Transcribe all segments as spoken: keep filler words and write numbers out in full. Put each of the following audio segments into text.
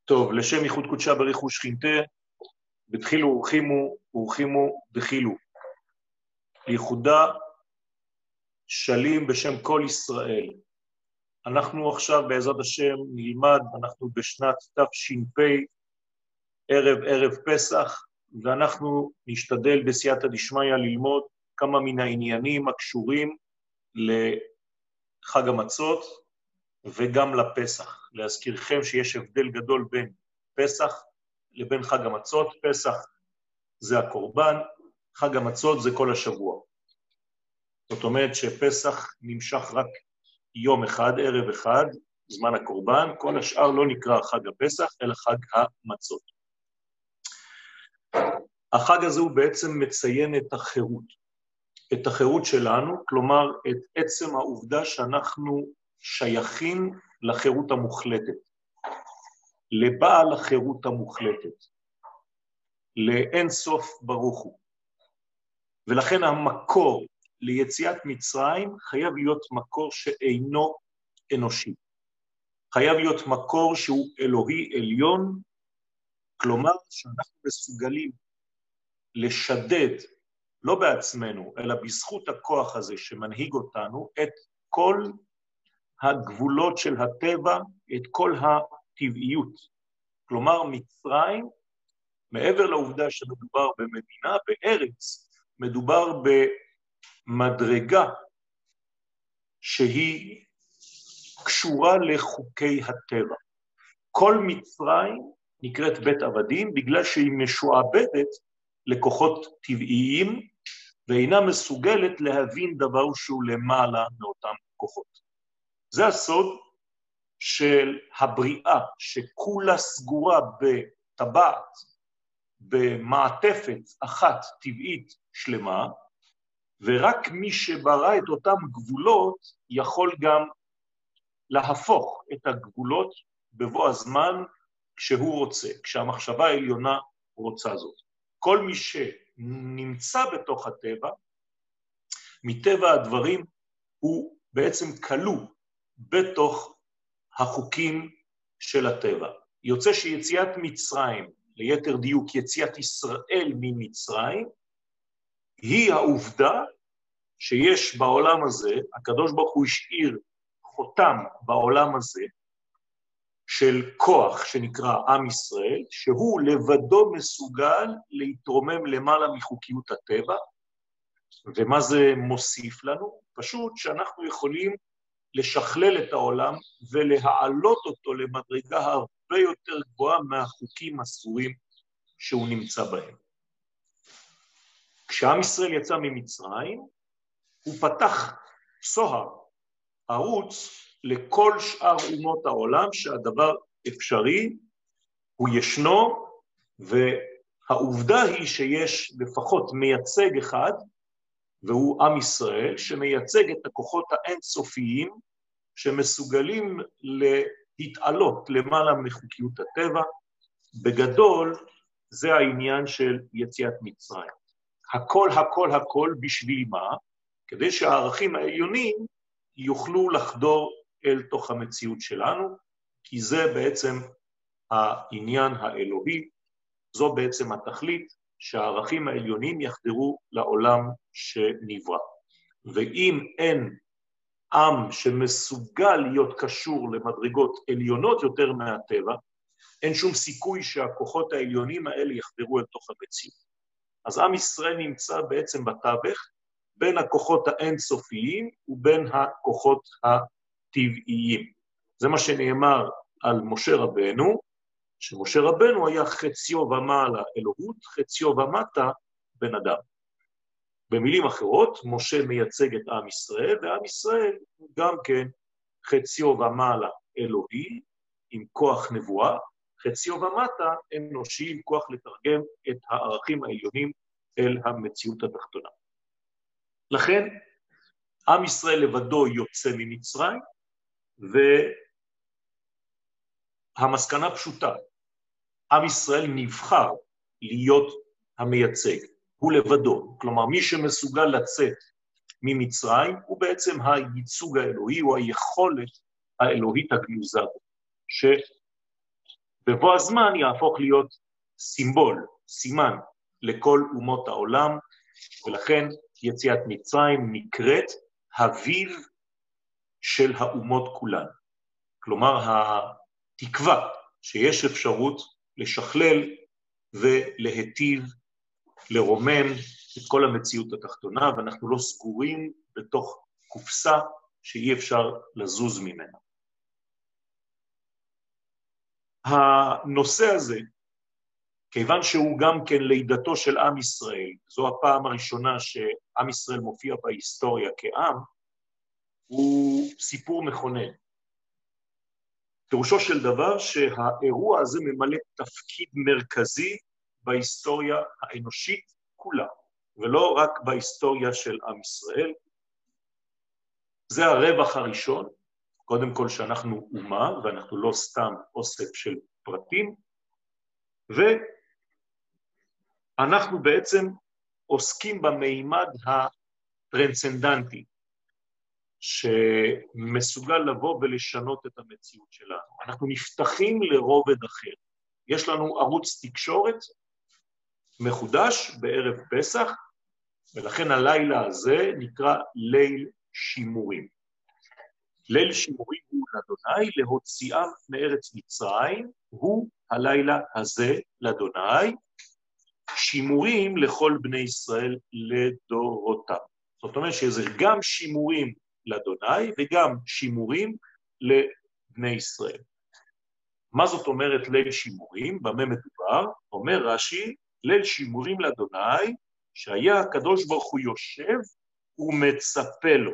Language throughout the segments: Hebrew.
טוב, לשם ייחוד קודשה בריחו שכינתה, בתחילו ורחימו, ורחימו דחילו. לייחודה שלים בשם כל ישראל. אנחנו עכשיו בעזרת השם נלמד, אנחנו בשנת תש"פ, ערב ערב פסח, ואנחנו נשתדל בסייעתא דשמיא ללמוד כמה מן העניינים הקשורים לחג המצות וגם לפסח. להזכירכם שיש הבדל גדול בין פסח לבין חג המצות. פסח זה הקורבן, חג המצות זה כל השבוע. זאת אומרת שפסח נמשך רק יום אחד, ערב אחד, זמן הקורבן, כל השאר לא נקרא חג הפסח, אלא חג המצות. החג הזה הוא בעצם מציין את החירות, את החירות שלנו, כלומר את עצם העובדה שאנחנו שייכים לחירות המוחלטת, לבעל החירות המוחלטת, לאין סוף ברוך הוא. ולכן המקור ליציאת מצרים חייב להיות מקור שאינו אנושי. חייב להיות מקור שהוא אלוהי עליון, כלומר שאנחנו מסוגלים לשדד, לא בעצמנו, אלא בזכות הכוח הזה שמנהיג אותנו, את כל הגבולות של הטבע, את כל הטבעיות. כלומר, מצרים, מעבר לעובדה שמדובר במדינה, בארץ, מדובר במדרגה שהיא קשורה לחוקי הטבע. כל מצרים נקראת בית עבדים בגלל שהיא משועבדת לכוחות טבעיים, ואינה מסוגלת להבין דבר שהוא למעלה מאותם כוחות. זה הסוד של הבריאה, שכולה סגורה בטבעת, במעטפת אחת טבעית שלמה, ורק מי שברא את אותם גבולות יכול גם להפוך את הגבולות בבוא הזמן כשהוא רוצה, כשהמחשבה העליונה רוצה זאת. כל מי שנמצא בתוך הטבע, מטבע הדברים הוא בעצם כלוא בתוך החוקים של הטבע. יוצא שיציאת מצרים, ליתר דיוק יציאת ישראל ממצרים, היא העובדה שיש בעולם הזה, הקדוש ברוך הוא השאיר חותם בעולם הזה, של כוח שנקרא עם ישראל, שהוא לבדו מסוגל להתרומם למעלה מחוקיות הטבע, ומה זה מוסיף לנו? פשוט שאנחנו יכולים לשכלל את העולם ולהעלות אותו למדרגה הרבה יותר גבוהה מהחוקים הסגורים שהוא נמצא בהם. כשעם ישראל יצא ממצרים, הוא פתח סוהר, ערוץ לכל שאר אומות העולם שהדבר אפשרי, הוא ישנו, והעובדה היא שיש לפחות מייצג אחד, והוא עם ישראל, שמייצג את הכוחות האינסופיים, שמסוגלים להתעלות למעלה מחוקיות הטבע. בגדול, זה העניין של יציאת מצרים. הכל, הכל, הכל בשביל מה? כדי שהערכים העליונים יוכלו לחדור אל תוך המציאות שלנו, כי זה בעצם העניין האלוהי, זו בעצם התכלית שהערכים העליונים יחדרו לעולם שנברא. ואם אין עם שמסוגל להיות קשור למדרגות עליונות יותר מהטבע, אין שום סיכוי שהכוחות העליונים האלה יחדרו אל תוך המציאות. אז עם ישראל נמצא בעצם בתווך, בין הכוחות האינסופיים ובין הכוחות הטבעיים. זה מה שנאמר על משה רבנו, שמשה רבנו היה חציו ומעלה אלוהות, חציו ומטה בן אדם. במילים אחרות, משה מייצג את עם ישראל, ועם ישראל הוא גם כן חציו ומעלה אלוהי, עם כוח נבואה, חציו ומטה אנושי, עם כוח לתרגם את הערכים העליונים אל המציאות התחתונה. לכן, עם ישראל לבדו יוצא ממצרים, והמסקנה פשוטה, עם ישראל נבחר להיות המייצג, הוא לבדו, כלומר מי שמסוגל לצאת ממצרים, הוא בעצם הייצוג האלוהי, הוא היכולת האלוהית הגנוזה, בבוא הזמן יהפוך להיות סימבול, סימן לכל אומות העולם, ולכן יציאת מצרים נקראת אביו של האומות כולן. כלומר, התקווה שיש אפשרות לשכלל ולהטיב, לרומם את כל המציאות התחתונה, ואנחנו לא סגורים בתוך קופסה שאי אפשר לזוז ממנה. הנושא הזה, כיוון שהוא גם כן לידתו של עם ישראל, זו הפעם הראשונה שעם ישראל מופיע בהיסטוריה כעם, הוא סיפור מכונן. פירושו של דבר שהאירוע הזה ממלא תפקיד מרכזי בהיסטוריה האנושית כולה, ולא רק בהיסטוריה של עם ישראל. זה הרווח הראשון, קודם כל שאנחנו אומה, ואנחנו לא סתם אוסף של פרטים, ואנחנו בעצם עוסקים במימד הטרנסצנדנטי, שמסוגל לבוא ולשנות את המציאות שלנו. אנחנו נפתחים לרובד אחר. יש לנו ערוץ תקשורת מחודש בערב פסח, ולכן הלילה הזה נקרא ליל שימורים. ליל שימורים הוא לאדוני להוציאם מארץ מצרים, הוא הלילה הזה לאדוני, שימורים לכל בני ישראל לדורותם. זאת אומרת שזה גם שימורים לאדוני וגם שימורים לבני ישראל. מה זאת אומרת ליל שימורים? במה מדובר? אומר רש"י, ליל שימורים לאדוני, שהיה הקדוש ברוך הוא יושב ומצפה לו.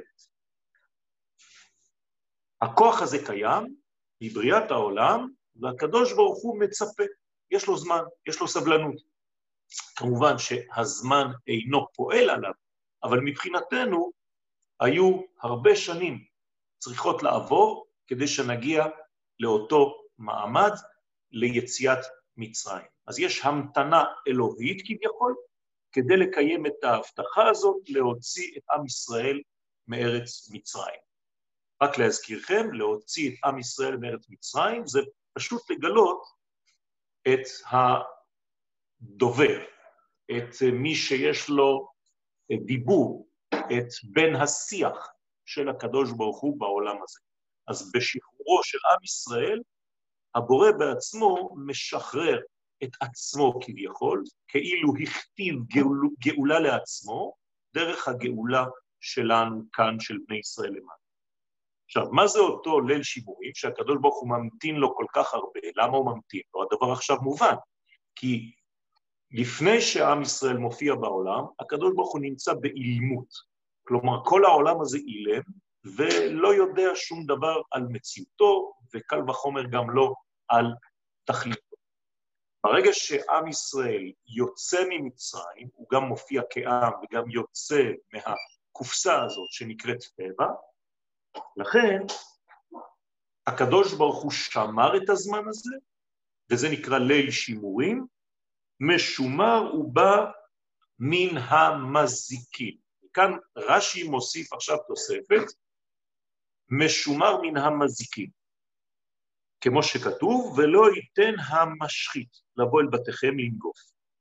הכוח הזה קיים מבריאת העולם, והקדוש ברוך הוא מצפה. יש לו זמן, יש לו סבלנות. כמובן שהזמן אינו פועל עליו, אבל מבחינתנו היו הרבה שנים צריכות לעבור כדי שנגיע לאותו מעמד ליציאת מצרים. אז יש המתנה אלוהית כביכול, כדי לקיים את ההבטחה הזאת, להוציא את עם ישראל מארץ מצרים. רק להזכירכם, להוציא את עם ישראל מארץ מצרים, זה פשוט לגלות את הדובר, את מי שיש לו דיבור, את בן השיח של הקדוש ברוך הוא בעולם הזה. אז בשחרורו של עם ישראל, הבורא בעצמו משחרר את עצמו כביכול, כאילו הכתיב גאול, גאולה לעצמו, דרך הגאולה שלנו כאן של בני ישראל למעלה. עכשיו, מה זה אותו ליל שימורים שהקדוש ברוך הוא ממתין לו כל כך הרבה? למה הוא ממתין לו? הדבר עכשיו מובן, כי לפני שעם ישראל מופיע בעולם, הקדוש ברוך הוא נמצא באילמות. כלומר, כל העולם הזה אילם, ולא יודע שום דבר על מציאותו, וקל וחומר גם לא על תכליתו. ברגע שעם ישראל יוצא ממצרים, הוא גם מופיע כעם וגם יוצא מהקופסה הזאת שנקראת טבע, לכן הקדוש ברוך הוא שמר את הזמן הזה, וזה נקרא ליל שימורים, משומר ובא מן המזיקים. כאן רש"י מוסיף עכשיו תוספת, משומר מן המזיקים. כמו שכתוב, ולא ייתן המשחית לבוא אל בתיכם לנגוף.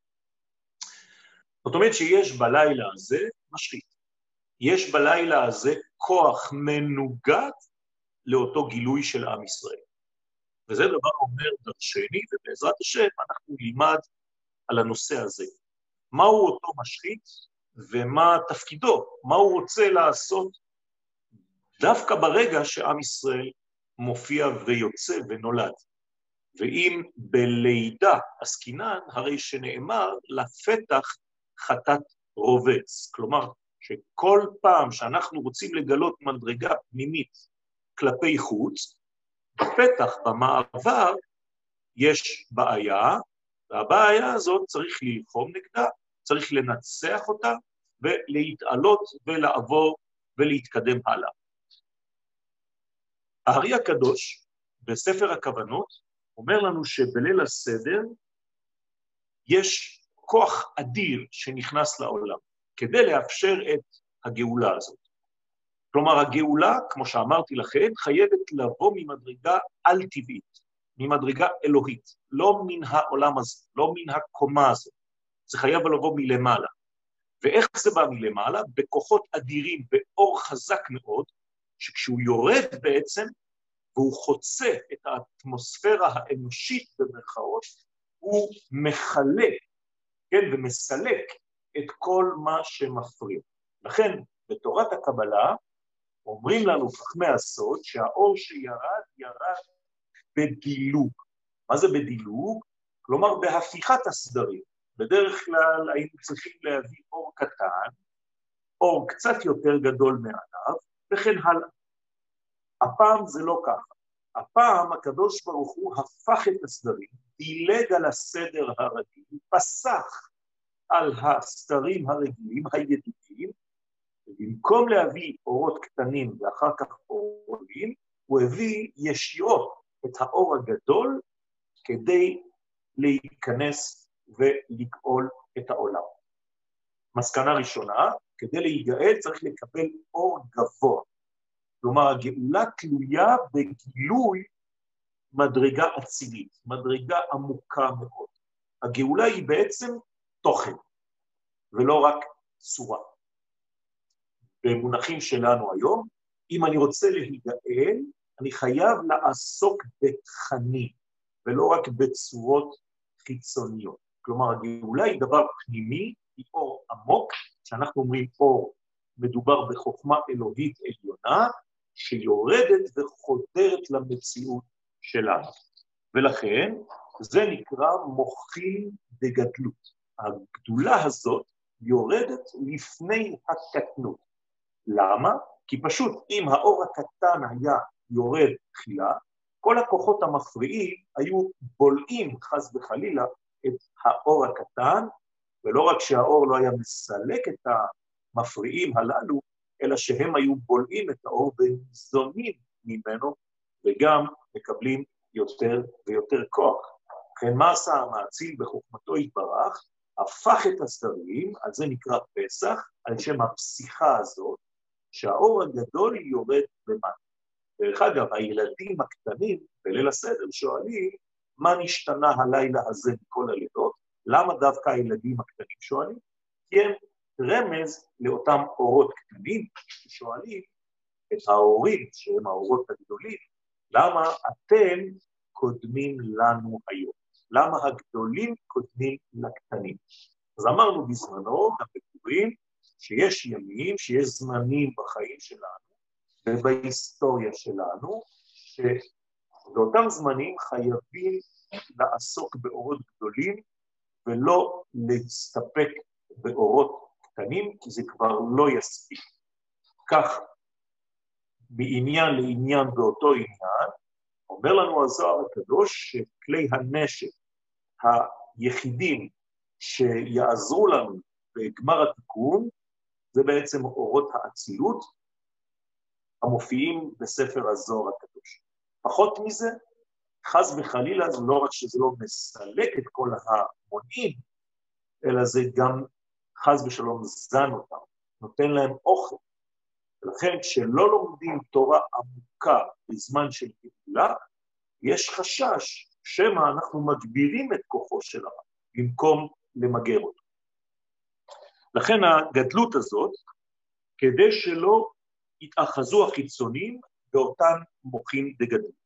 זאת אומרת שיש בלילה הזה משחית. יש בלילה הזה כוח מנוגד לאותו גילוי של עם ישראל. וזה דבר אומר דרשני, ובעזרת השם אנחנו נלמד על הנושא הזה. מהו אותו משחית ומה תפקידו? מה הוא רוצה לעשות דווקא ברגע שעם ישראל מופיע ויוצא ונולד. ואם בלידה עסקינן, הרי שנאמר לפתח חטאת רובץ. כלומר, שכל פעם שאנחנו רוצים לגלות מדרגה פנימית כלפי חוץ, בפתח, במעבר, יש בעיה, והבעיה הזאת צריך ללחום נגדה, צריך לנצח אותה, ולהתעלות ולעבור ולהתקדם הלאה. הארי הקדוש, בספר הכוונות, אומר לנו שבליל הסדר יש כוח אדיר שנכנס לעולם, כדי לאפשר את הגאולה הזאת. כלומר, הגאולה, כמו שאמרתי לכם, חייבת לבוא ממדרגה על-טבעית. ממדרגה אלוהית, לא מן העולם הזה, לא מן הקומה הזאת, זה חייב לבוא מלמעלה. ואיך זה בא מלמעלה? בכוחות אדירים, באור חזק מאוד, שכשהוא יורד בעצם, והוא חוצה את האטמוספירה האנושית במרכאות, הוא מחלק, כן, ומסלק את כל מה שמפריע. לכן, בתורת הקבלה, אומרים לנו חכמי הסוד, שהאור שירד, ירד בדילוג. מה זה בדילוג? כלומר, בהפיכת הסדרים. בדרך כלל היינו צריכים להביא אור קטן, אור קצת יותר גדול מעליו, וכן הלאה. הפעם זה לא ככה. הפעם הקדוש ברוך הוא הפך את הסדרים, דילג על הסדר הרגיל, פסח על הסדרים הרגילים, הידידים, ובמקום להביא אורות קטנים ואחר כך אורים, הוא הביא ישירות את האור הגדול כדי להיכנס ולגאול את העולם. מסקנה ראשונה, כדי להיגאל צריך לקבל אור גבוה. כלומר, הגאולה תלויה בגילוי מדרגה אצילית, מדרגה עמוקה מאוד. הגאולה היא בעצם תוכן, ולא רק צורה. במונחים שלנו היום, אם אני רוצה להיגאל, אני חייב לעסוק בתכנים, ולא רק בצורות חיצוניות. כלומר, הגאולה היא דבר פנימי, היא אור עמוק, שאנחנו אומרים אור, מדובר בחוכמה אלוהית עליונה, שיורדת וחודרת למציאות שלנו. ולכן, זה נקרא מוחין דגדלות. הגדולה הזאת יורדת לפני הקטנות. למה? כי פשוט אם האור הקטן היה יורד תחילה, כל הכוחות המפריעים היו בולעים חס וחלילה את האור הקטן, ולא רק שהאור לא היה מסלק את המפריעים הללו, אלא שהם היו בולעים את האור וזונים ממנו, וגם מקבלים יותר ויותר כוח. לכן מה עשה המאציל בחוכמתו יתברך? הפך את הסדרים, על זה נקרא פסח, על שם הפסיכה הזאת, שהאור הגדול יורד למטה. דרך אגב, הילדים הקטנים בליל הסדר שואלים, מה נשתנה הלילה הזה מכל הלילות? למה דווקא הילדים הקטנים שואלים? כי הם רמז לאותם אורות קטנים ששואלים את ההורים, שהם האורות הגדולים, למה אתם קודמים לנו היום? למה הגדולים קודמים לקטנים? אז אמרנו בזמנו, גם בפורים, שיש ימים, שיש זמנים בחיים שלנו, ובהיסטוריה שלנו, שבאותם זמנים חייבים לעסוק באורות גדולים, ולא להסתפק באורות קטנים, כי זה כבר לא יספיק. כך, מעניין לעניין באותו עניין, אומר לנו הזוהר הקדוש, שכלי הנשק היחידים שיעזרו לנו בגמר התיקון, זה בעצם אורות האצילות, המופיעים בספר הזוהר הקדוש. פחות מזה, חס וחלילה, זה לא רק שזה לא מסלק את כל המונים, אלא זה גם חס ושלום זן אותם, נותן להם אוכל. ולכן כשלא לומדים תורה עמוקה בזמן של גאולה, יש חשש שמא אנחנו מגבירים את כוחו של הרע, במקום למגר אותו. לכן הגדלות הזאת, כדי שלא יתאחזו החיצונים באותן מוחין דגדלות.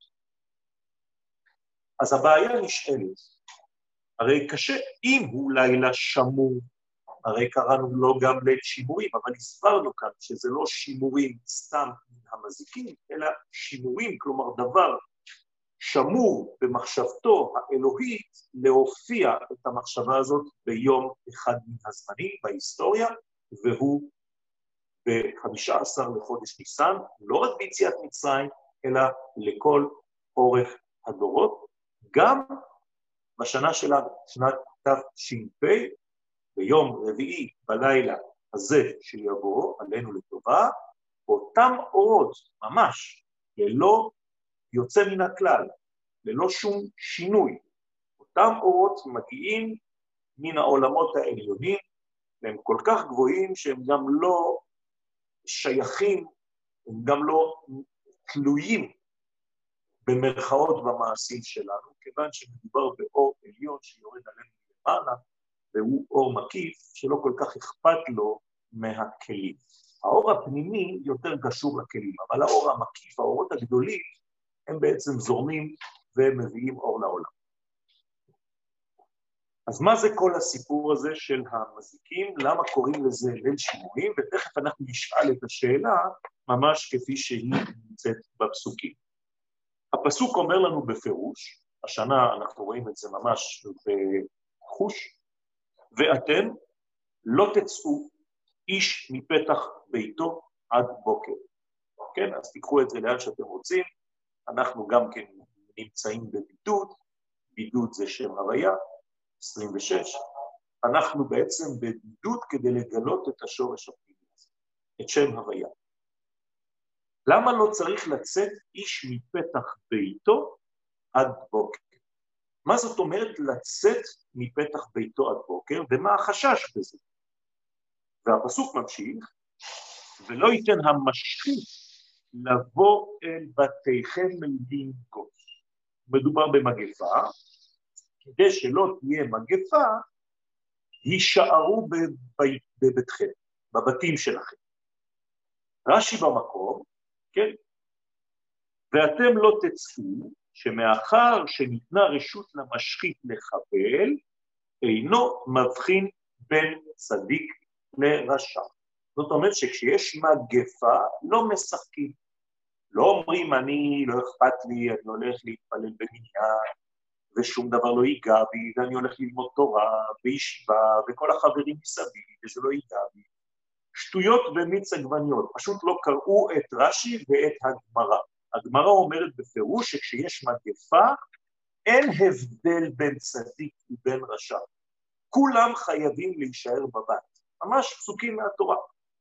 אז הבעיה נשאלת, הרי קשה, אם הוא לילה שמור, הרי קראנו לו גם ליל שימורים, אבל הסברנו כאן שזה לא שימורים סתם המזיקים, אלא שימורים, כלומר דבר שמור במחשבתו האלוהית להופיע את המחשבה הזאת ביום אחד מן הזמנים בהיסטוריה, והוא ב-חמישה עשר לחודש ניסן, לא רק ביציאת מצרים, אלא לכל אורך הדורות, גם בשנה שלנו, שנת תש"פ, ביום רביעי בלילה הזה שיבוא עלינו לטובה, אותם אורות ממש ללא יוצא מן הכלל, ללא שום שינוי. אותם אורות מגיעים מן העולמות העליונים, והם כל כך גבוהים שהם גם לא שייכים, הם גם לא תלויים במרכאות במעשים שלנו, כיוון שמדובר באור עליון שיורד עלינו למעלה, והוא אור מקיף שלא כל כך אכפת לו מהכלים. האור הפנימי יותר קשור לכלים, אבל האור המקיף, האורות הגדולים, הם בעצם זורמים ומביאים אור לעולם. אז מה זה כל הסיפור הזה של המזיקים? למה קוראים לזה ליל שימורים? ותכף אנחנו נשאל את השאלה ממש כפי שהיא נמצאת בפסוקים. הפסוק אומר לנו בפירוש, השנה אנחנו רואים את זה ממש בחוש, ואתם לא תצאו איש מפתח ביתו עד בוקר. כן, אז תיקחו את זה לאן שאתם רוצים, אנחנו גם כן נמצאים בבידוד, בידוד זה שם הוויה, עשרים ושש, אנחנו בעצם בבידוד כדי לגלות את השורש הפנימי הזה, את שם הוויה. למה לא צריך לצאת איש מפתח ביתו עד בוקר? מה זאת אומרת לצאת מפתח ביתו עד בוקר, ומה החשש בזה? והפסוק ממשיך, ולא ייתן המשחית לבוא אל בתיכם לנגוש. מדובר במגפה, כדי שלא תהיה מגפה, יישארו בבית, בביתכם, בבתים שלכם. רש"י במקום, כן? ואתם לא תצאו, שמאחר שניתנה רשות למשחית לחבל, אינו מבחין בין צדיק לרשע. זאת אומרת שכשיש מגפה, לא משחקים. לא אומרים, אני לא אכפת לי, אני הולך להתפלל במניין, ושום דבר לא ייגע בי, ואני הולך ללמוד תורה, בישיבה, וכל החברים מסביב, וזה לא ייגע בי. שטויות במיץ עגבניות, פשוט לא קראו את רש"י ואת הגמרא. הגמרא אומרת בפירוש שכשיש מגפה, אין הבדל בין צדיק ובין רשע. כולם חייבים להישאר בבית. ממש פסוקים מהתורה.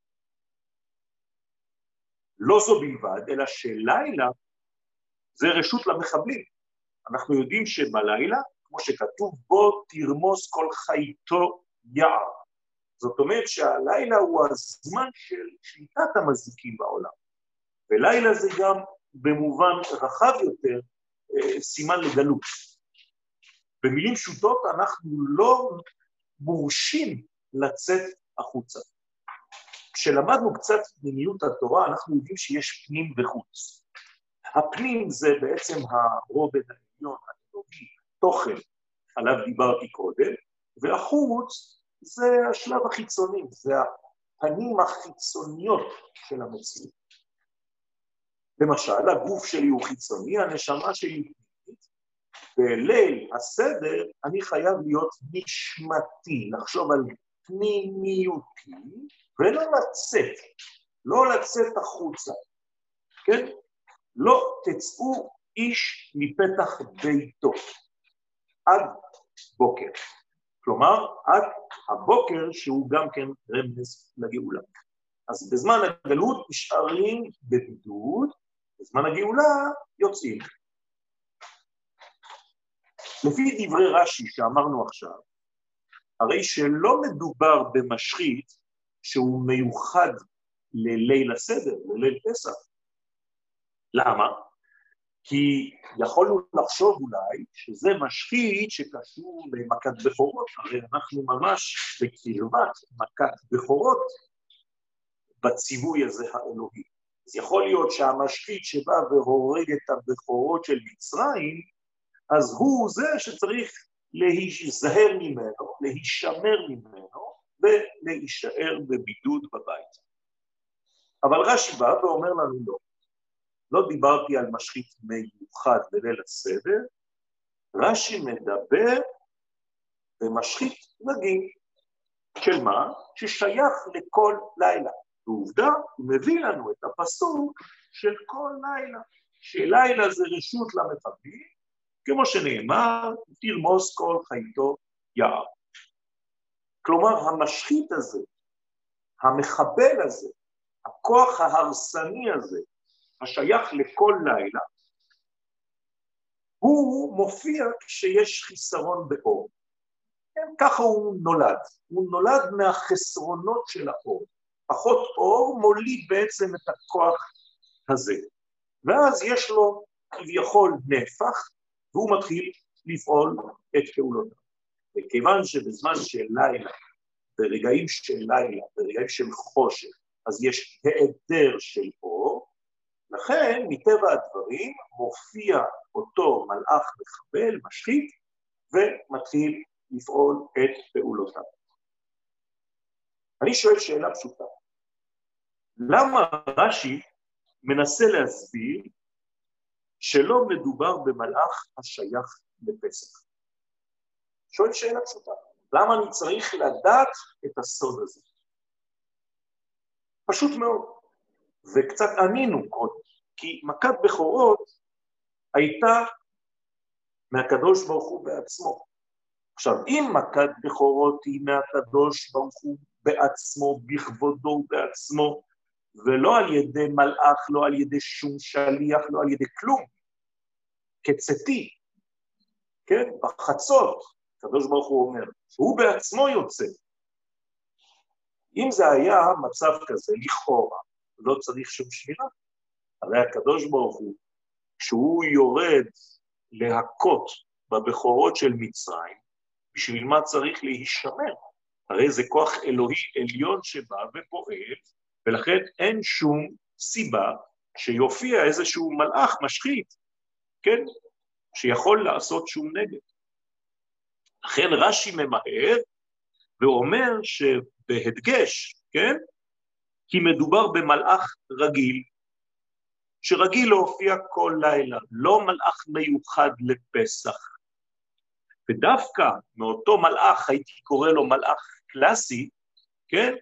לא זו בלבד, אלא שלילה זה רשות למחבלים. אנחנו יודעים שבלילה, כמו שכתוב בו, תרמוס כל חייתו יער. זאת אומרת שהלילה הוא הזמן של שליטת המזיקים בעולם. ולילה זה גם במובן רחב יותר סימן לגלות. במילים פשוטות אנחנו לא מורשים לצאת החוצה. כשלמדנו קצת פנימיות התורה, אנחנו יודעים שיש פנים וחוץ. הפנים זה בעצם הרובד העליון, האלוהי, תוכן, עליו דיברתי קודם, והחוץ זה השלב החיצוני, זה הפנים החיצוניות של המציאות. למשל, הגוף שלי הוא חיצוני, הנשמה שלי היא פנימית, בליל הסדר אני חייב להיות נשמתי, לחשוב על פנימיותי, ולא לצאת, לא לצאת החוצה, כן? לא תצאו איש מפתח ביתו, עד בוקר. כלומר, עד הבוקר שהוא גם כן רמז לגאולה. אז בזמן הגלות נשארים בבידוד, בזמן הגאולה יוצאים. לפי דברי רש"י שאמרנו עכשיו, הרי שלא מדובר במשחית שהוא מיוחד לליל הסדר, לליל פסח. למה? כי יכולנו לחשוב אולי שזה משחית שקשור למכת בכורות, הרי אנחנו ממש בקרבת מכת בכורות בציווי הזה האלוהי. אז יכול להיות שהמשחית שבא והורג את הבכורות של מצרים, אז הוא זה שצריך להיזהר ממנו, להישמר ממנו, ולהישאר בבידוד בבית. אבל רש"י בא ואומר לנו לא. לא דיברתי על משחית מיוחד בליל הסדר, רש"י מדבר במשחית רגיל. של מה? ששייך לכל לילה. ועובדה, הוא מביא לנו את הפסוק של כל לילה. שלילה זה רשות למחבלים, כמו שנאמר, תרמוס כל חייתו יער. כלומר, המשחית הזה, המחבל הזה, הכוח ההרסני הזה, השייך לכל לילה, הוא מופיע כשיש חיסרון באור. כן, ככה הוא נולד. הוא נולד מהחסרונות של האור. פחות אור מוליד בעצם את הכוח הזה. ואז יש לו כביכול נהפך, והוא מתחיל לפעול את פעולותיו. וכיוון שבזמן של לילה, ברגעים של לילה, ברגעים של חושך, אז יש היעדר של אור, לכן מטבע הדברים מופיע אותו מלאך מחבל, משחית, ומתחיל לפעול את פעולותיו. אני שואל שאלה פשוטה, למה רש"י מנסה להסביר שלא מדובר במלאך השייך לפסח? שואל שאלה פשוטה, למה אני צריך לדעת את הסוד הזה? פשוט מאוד, וקצת ענינו קודם, כי מכת בכורות הייתה מהקדוש ברוך הוא בעצמו. עכשיו, אם מכת בכורות היא מהקדוש ברוך הוא בעצמו, בכבודו בעצמו, ולא על ידי מלאך, לא על ידי שום שליח, לא על ידי כלום, כצאתי, כן, בחצות, הקדוש ברוך הוא אומר, הוא בעצמו יוצא. אם זה היה מצב כזה, לכאורה, לא צריך שום שמירה. הרי הקדוש ברוך הוא, כשהוא יורד להכות בבכורות של מצרים, בשביל מה צריך להישמר? הרי זה כוח אלוהי עליון שבא ופועל, ולכן אין שום סיבה שיופיע איזשהו מלאך משחית, כן? שיכול לעשות שום נגד. לכן רש"י ממהר, ואומר שבהדגש, כן? כי מדובר במלאך רגיל, שרגיל להופיע כל לילה, לא מלאך מיוחד לפסח. ודווקא מאותו מלאך, הייתי קורא לו מלאך קלאסי, כן?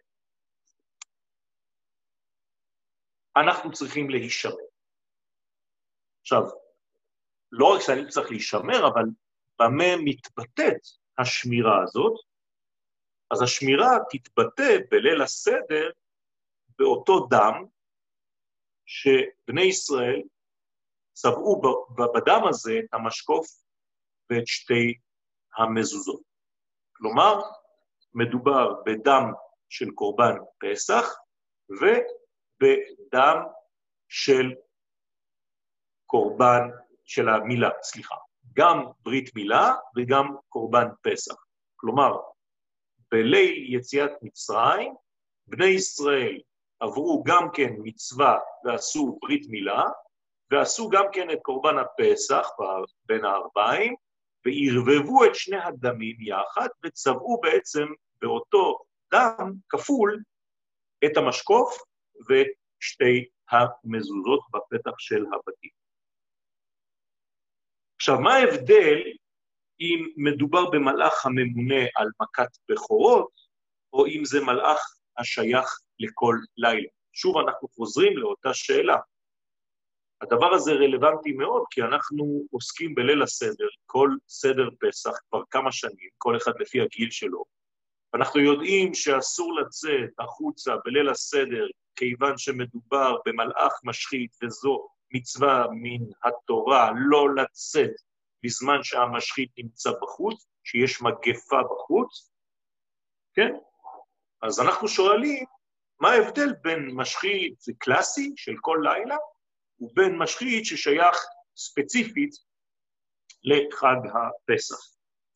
אנחנו צריכים להישמר. עכשיו, לא רק שאני צריך להישמר, אבל במה מתבטאת השמירה הזאת? אז השמירה תתבטא בליל הסדר באותו דם שבני ישראל צבעו בדם הזה את המשקוף ואת שתי המזוזות. כלומר, מדובר בדם של קורבן פסח ובדם של קורבן של המילה, סליחה, גם ברית מילה וגם קורבן פסח. כלומר, בליל יציאת מצרים, בני ישראל עברו גם כן מצווה ועשו ברית מילה, ועשו גם כן את קורבן הפסח בין הארבעים, וערבבו את שני הדמים יחד, וצבעו בעצם באותו דם כפול את המשקוף ואת שתי המזוזות בפתח של הבתים. עכשיו, מה ההבדל אם מדובר במלאך הממונה על מכת בכורות, או אם זה מלאך השייך לכל לילה? שוב אנחנו חוזרים לאותה שאלה. הדבר הזה רלוונטי מאוד, כי אנחנו עוסקים בליל הסדר, כל סדר פסח כבר כמה שנים, כל אחד לפי הגיל שלו. אנחנו יודעים שאסור לצאת החוצה בליל הסדר, כיוון שמדובר במלאך משחית, וזו מצווה מן התורה לא לצאת בזמן שהמשחית נמצא בחוץ, שיש מגפה בחוץ, כן? אז אנחנו שואלים, מה ההבדל בין משחית קלאסי של כל לילה, ובין משחית ששייך ספציפית לחג הפסח.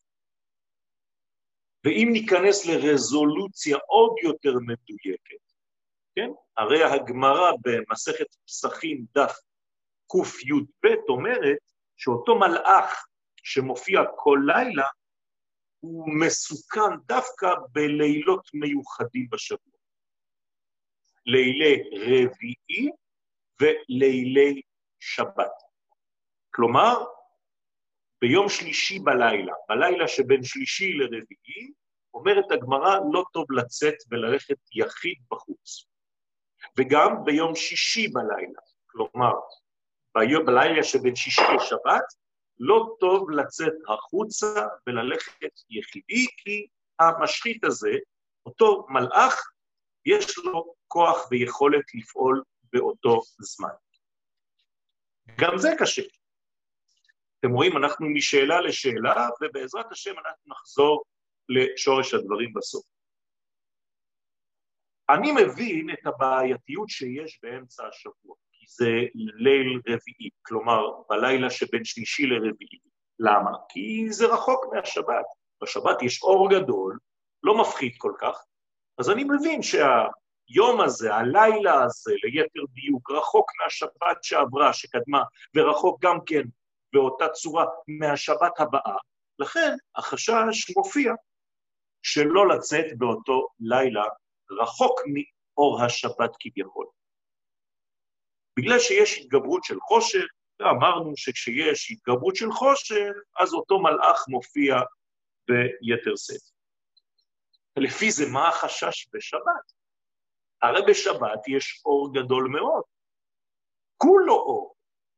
ואם ניכנס לרזולוציה עוד יותר מדויקת, כן? הרי הגמרא במסכת פסחים דף ק"י"ב אומרת שאותו מלאך שמופיע כל לילה, הוא מסוכן דווקא בלילות מיוחדים בשבוע. לילי רביעי ולילי שבת. כלומר, ביום שלישי בלילה, בלילה שבין שלישי לרביעי, אומרת הגמרא לא טוב לצאת וללכת יחיד בחוץ. וגם ביום שישי בלילה, כלומר, בלילה שבין שישי לשבת, לא טוב לצאת החוצה וללכת יחידי, כי המשחית הזה, אותו מלאך, יש לו כוח ויכולת לפעול באותו זמן. גם זה קשה. אתם רואים, אנחנו משאלה לשאלה, ובעזרת השם אנחנו נחזור לשורש הדברים בסוף. אני מבין את הבעייתיות שיש באמצע השבוע, כי זה ליל רביעי, כלומר בלילה שבין שלישי לרביעי. למה? כי זה רחוק מהשבת. בשבת יש אור גדול, לא מפחיד כל כך, אז אני מבין שהיום הזה, הלילה הזה, ליתר דיוק, רחוק מהשבת שעברה, שקדמה, ורחוק גם כן באותה צורה מהשבת הבאה, לכן החשש מופיע שלא לצאת באותו לילה רחוק מאור השבת כביכול. בגלל שיש התגברות של חושך, ואמרנו שכשיש התגברות של חושך, אז אותו מלאך מופיע ביתר שאת. לפי זה מה החשש בשבת? הרי בשבת יש אור גדול מאוד, כולו אור.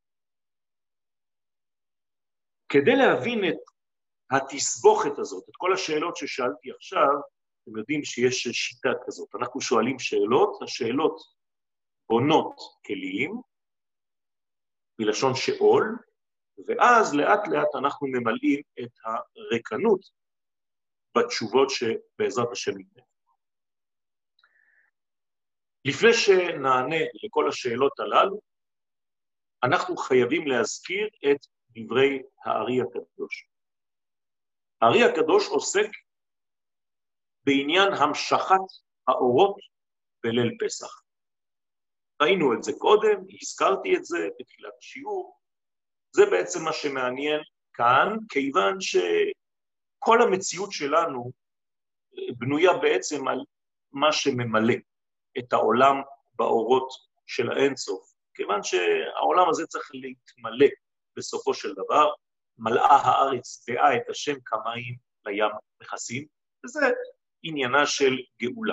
כדי להבין את התסבוכת הזאת, את כל השאלות ששאלתי עכשיו, אתם יודעים שיש שיטה כזאת, אנחנו שואלים שאלות, השאלות בונות כלים, מלשון שאול, ואז לאט לאט אנחנו ממלאים את הריקנות בתשובות שבעזרת השם ניתן. לפני שנענה לכל השאלות הללו, אנחנו חייבים להזכיר את דברי הארי הקדוש. הארי הקדוש עוסק בעניין המשכת האורות בליל פסח. ראינו את זה קודם, הזכרתי את זה בתחילת השיעור, זה בעצם מה שמעניין כאן, כיוון שכל המציאות שלנו בנויה בעצם על מה שממלא את העולם באורות של האינסוף, כיוון שהעולם הזה צריך להתמלא בסופו של דבר, מלאה הארץ דעה את השם כמים לים מכסים, וזה עניינה של גאולה.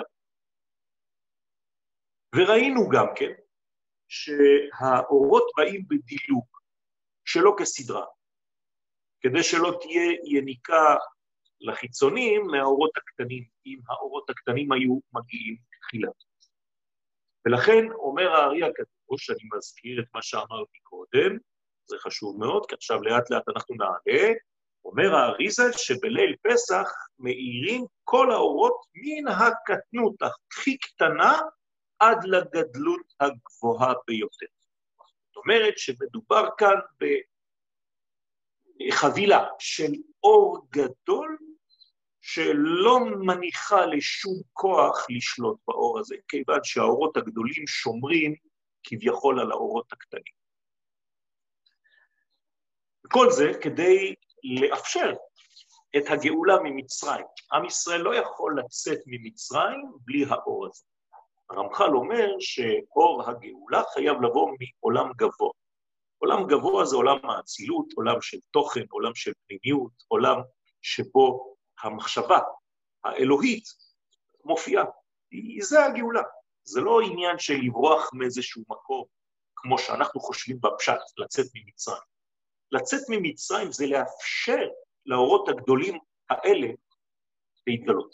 וראינו גם כן שהאורות באים בדילוג, שלא כסדרה, כדי שלא תהיה יניקה לחיצונים מהאורות הקטנים, אם האורות הקטנים היו מגיעים תחילה. ולכן אומר הארי הקדוש, אני מזכיר את מה שאמרתי קודם, זה חשוב מאוד, כי עכשיו לאט לאט אנחנו נעלה, אומר האריזה שבליל פסח מאירים כל האורות מן הקטנות הכי קטנה עד לגדלות הגבוהה ביותר. זאת אומרת שמדובר כאן בחבילה של אור גדול שלא מניחה לשום כוח לשלוט באור הזה, כיוון שהאורות הגדולים שומרים כביכול על האורות הקטנים. וכל זה כדי לאפשר את הגאולה ממצרים. עם ישראל לא יכול לצאת ממצרים בלי האור הזה. הרמח"ל אומר שאור הגאולה חייב לבוא מעולם גבוה. עולם גבוה זה עולם האצילות, עולם של תוכן, עולם של פנימיות, עולם שבו המחשבה האלוהית מופיעה. זה הגאולה. זה לא עניין של לברוח מאיזשהו מקום, כמו שאנחנו חושבים בפשט, לצאת ממצרים. לצאת ממצרים זה לאפשר לאורות הגדולים האלה להתגלות.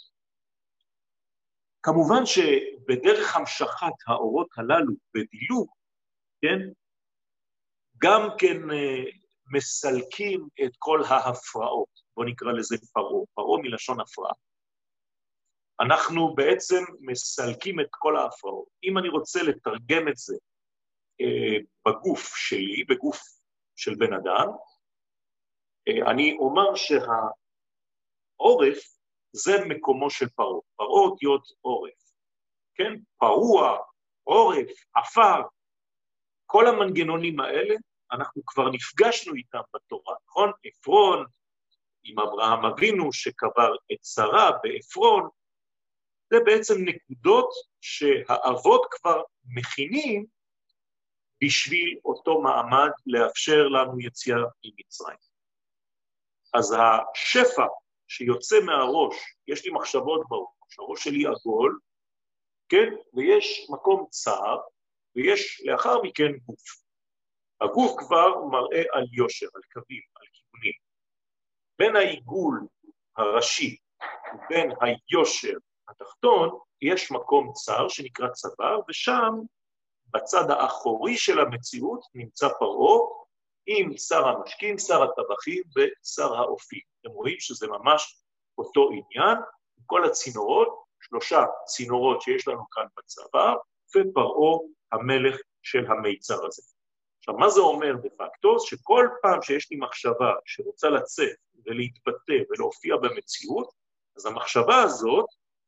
כמובן שבדרך המשכת האורות הללו בדילוג, כן, גם כן מסלקים את כל ההפרעות, בוא נקרא לזה פרעה, פרעה מלשון הפרעה. אנחנו בעצם מסלקים את כל ההפרעות. אם אני רוצה לתרגם את זה אה, בגוף שלי, בגוף של בן אדם, אה, אני אומר שהעורף זה מקומו של פרעה. פרעה אותיות עורף, כן? פרוע, עורף, עפר, כל המנגנונים האלה, אנחנו כבר נפגשנו איתם בתורה, נכון? עפרון, עם אברהם אבינו שקבר את שרה בעפרון, זה בעצם נקודות שהאבות כבר מכינים בשביל אותו מעמד לאפשר לנו יציאה ממצרים. אז השפע שיוצא מהראש, יש לי מחשבות בראש, הראש שלי עגול, כן? ויש מקום צר, ויש לאחר מכן גוף. הגוף כבר מראה על יושר, על קווים, על כיוונים. בין העיגול הראשי ובין היושר התחתון, יש מקום צר שנקרא צוואר, ושם בצד האחורי של המציאות נמצא פרעה, עם שר המשקים, שר הטבחים ושר האופים. אתם רואים שזה ממש אותו עניין, כל הצינורות, שלושה צינורות שיש לנו כאן בצוואר, ופרעה המלך של המיצר הזה. עכשיו, מה זה אומר דה פקטו? שכל פעם שיש לי מחשבה שרוצה לצאת ולהתבטא ולהופיע במציאות, אז המחשבה הזאת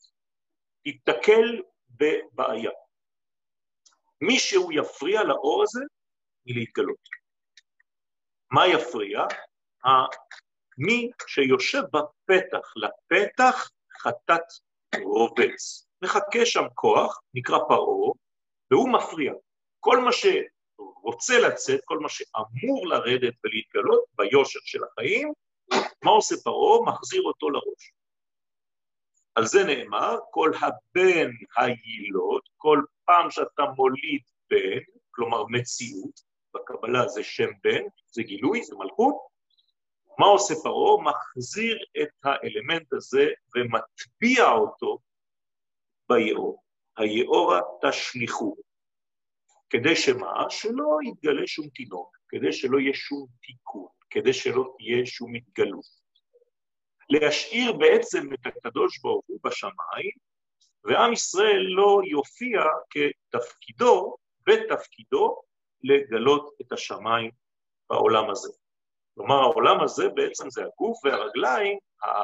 תתקל בבעיה. מישהו יפריע לאור הזה מלהתגלות. מה יפריע? מי שיושב בפתח, לפתח חטאת רובץ. מחכה שם כוח, נקרא פרעה, והוא מפריע. כל מה שרוצה לצאת, כל מה שאמור לרדת ולהתגלות ביושר של החיים, מה עושה פרעה? מחזיר אותו לראש. על זה נאמר, כל הבן היילוד, כל פעם שאתה מוליד בן, כלומר מציאות, בקבלה זה שם בן, זה גילוי, זה מלכות, מה עושה פרעה? מחזיר את האלמנט הזה ומטביע אותו ביאור. היאורה תשליחו. כדי שמה? שלא יתגלה שום תינוק, כדי שלא יהיה שום תיקון, כדי שלא תהיה שום התגלות. להשאיר בעצם את הקדוש ברוך הוא בשמיים, ועם ישראל לא יופיע כתפקידו, בתפקידו, לגלות את השמיים בעולם הזה. כלומר, העולם הזה בעצם זה הגוף והרגליים,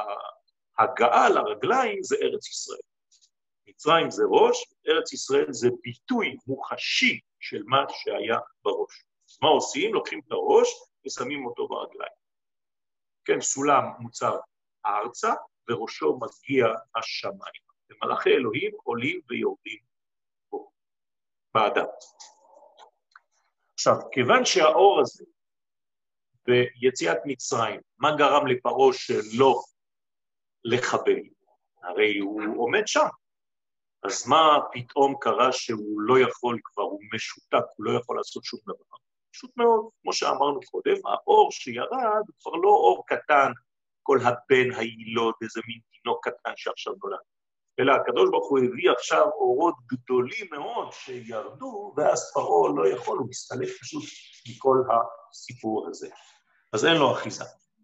ההגעה לרגליים זה ארץ ישראל. מצרים זה ראש, ארץ ישראל זה ביטוי מוחשי של מה שהיה בראש. מה עושים? לוקחים את הראש ושמים אותו ברגליים. כן, סולם מוצב ארצה, וראשו מגיע השמיים. ומלאכי אלוהים עולים ויורדים בו, באדם. עכשיו, כיוון שהאור הזה, ביציאת מצרים, מה גרם לפרעה שלא לחבל? הרי הוא עומד שם. אז מה פתאום קרה שהוא לא יכול כבר, הוא משותק, הוא לא יכול לעשות שום דבר? פשוט מאוד, כמו שאמרנו קודם, האור שירד הוא כבר לא אור קטן, כל הבן היילוד, איזה מין תינוק קטן שעכשיו נולד. אלא הקדוש ברוך הוא הביא עכשיו אורות גדולים מאוד שירדו, ואז פרעה לא יכול, הוא מסתלק פשוט מכל הסיפור הזה. אז אין לו אחיזה.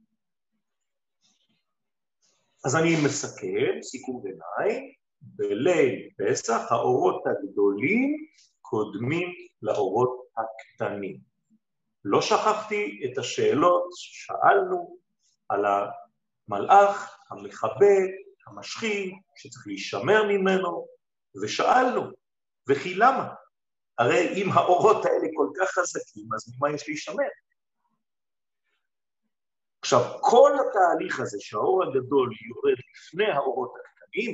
אז אני מסכם, סיכום ביניים, בליל פסח האורות הגדולים קודמים לאורות הקטנים. לא שכחתי את השאלות ששאלנו על המלאך, המחבל, המשחית, שצריך להישמר ממנו, ושאלנו, וכי למה? הרי אם האורות האלה כל כך חזקים, אז ממה יש להישמר? עכשיו, כל התהליך הזה שהאור הגדול יורד לפני האורות הקטנים,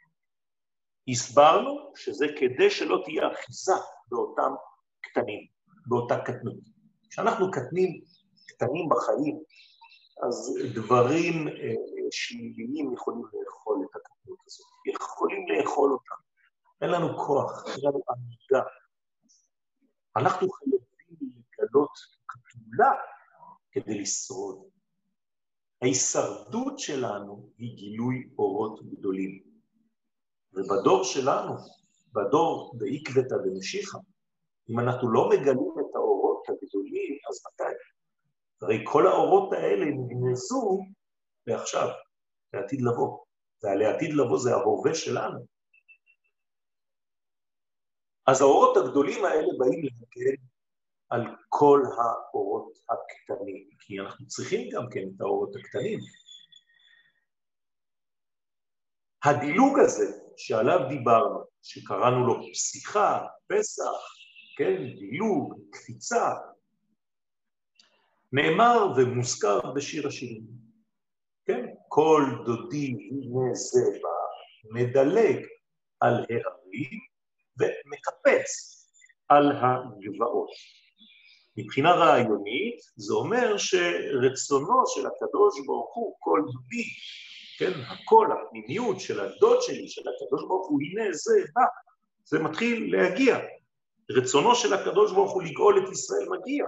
הסברנו שזה כדי שלא תהיה אחיזה באותם קטנים, באותה קטנות. כשאנחנו קטנים, קטנים בחיים, אז דברים שליליים יכולים לאכול את הקטנות הזאת, יכולים לאכול אותם. אין לנו כוח, אין לנו עמידה. אנחנו חייבים לגלות כפולה כדי לשרוד. ההישרדות שלנו היא גילוי אורות גדולים. ובדור שלנו, בדור בעקבתא דמשיחא, אם אנחנו לא מגלים את האורות הגדולים, אז מתי? הרי כל האורות האלה נגנזו לעכשיו, לעתיד לבוא. והלעתיד לבוא זה ההווה שלנו. אז האורות הגדולים האלה באים להגן על כל האורות הקטנים, כי אנחנו צריכים גם כן את האורות הקטנים. הדילוג הזה שעליו דיברנו, שקראנו לו פסיכה, פסח, כן, דילוג, קפיצה, נאמר ומוזכר בשיר השירים. כן, כל דודי הנה זה בא, מדלג על ההרים ומקפץ על הגבעות. מבחינה רעיונית, זה אומר שרצונו של הקדוש ברוך הוא, כל דודי, כן, הכל, הפנימיות של הדוד שלי, של הקדוש ברוך הוא, הנה זה בא, זה מתחיל להגיע. רצונו של הקדוש ברוך הוא לגאול את ישראל מגיע.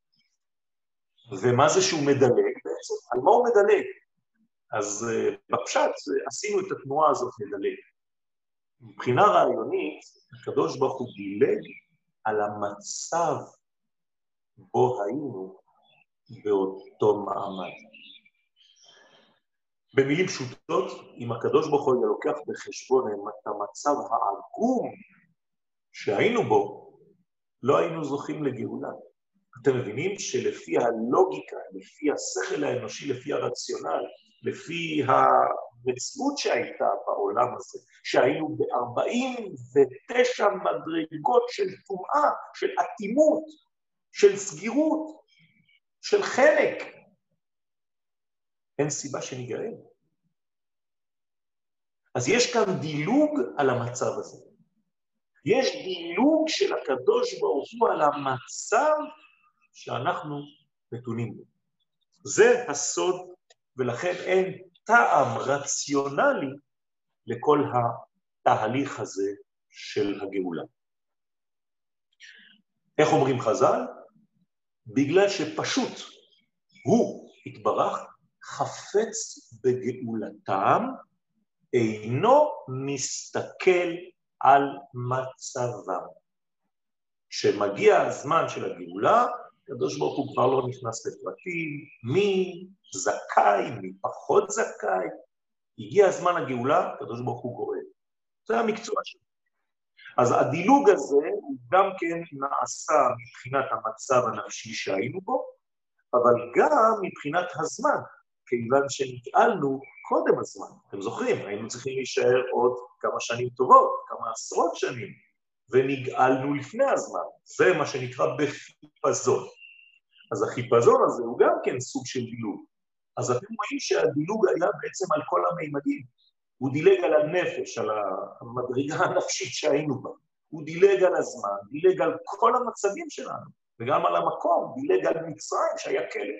ומה זה שהוא מדלג בעצם? על מה הוא מדלג? אז בפשט עשינו את התנועה הזאת לדלג. מבחינה רעיונית, הקדוש ברוך הוא דילג על המצב בו היינו באותו מעמד. במילים פשוטות, אם הקדוש ברוך הוא לוקח בחשבון את המצב העגום שהיינו בו, לא היינו זוכים לגאולה. אתם מבינים שלפי הלוגיקה, לפי השכל האנושי, לפי הרציונל, לפי המציאות שהייתה בעולם הזה, שהיינו ב-ארבעים ותשע מדרגות של טומאה, של אטימות, של סגירות, של חלק, אין סיבה שניגאל. אז יש כאן דילוג על המצב הזה. יש דילוג של הקדוש ברוך הוא על המצב שאנחנו נתונים בו. זה הסוד, ולכן אין טעם רציונלי לכל התהליך הזה של הגאולה. איך אומרים חז"ל? בגלל שפשוט הוא התברך חפץ בגאולתם, אינו מסתכל על מצבם. כשמגיע הזמן של הגאולה, הקדוש ברוך הוא כבר לא נכנס לפרטים, מי זכאי, מי פחות זכאי. הגיע הזמן הגאולה, הקדוש ברוך הוא גואל. זה המקצוע שלו. אז הדילוג הזה הוא גם כן נעשה מבחינת המצב הנפשי שהיינו בו, אבל גם מבחינת הזמן, כיוון שנגאלנו קודם הזמן. אתם זוכרים, היינו צריכים להישאר עוד כמה שנים טובות, כמה עשרות שנים, ונגאלנו לפני הזמן. זה מה שנקרא בחיפזון. אז החיפזון הזה הוא גם כן סוג של דילוג. אז אתם רואים שהדילוג היה בעצם על כל המימדים. הוא דילג על הנפש, על המדרגה הנפשית שהיינו בה. הוא דילג על הזמן, דילג על כל המצבים שלנו, וגם על המקום, דילג על מצרים שהיה כלא.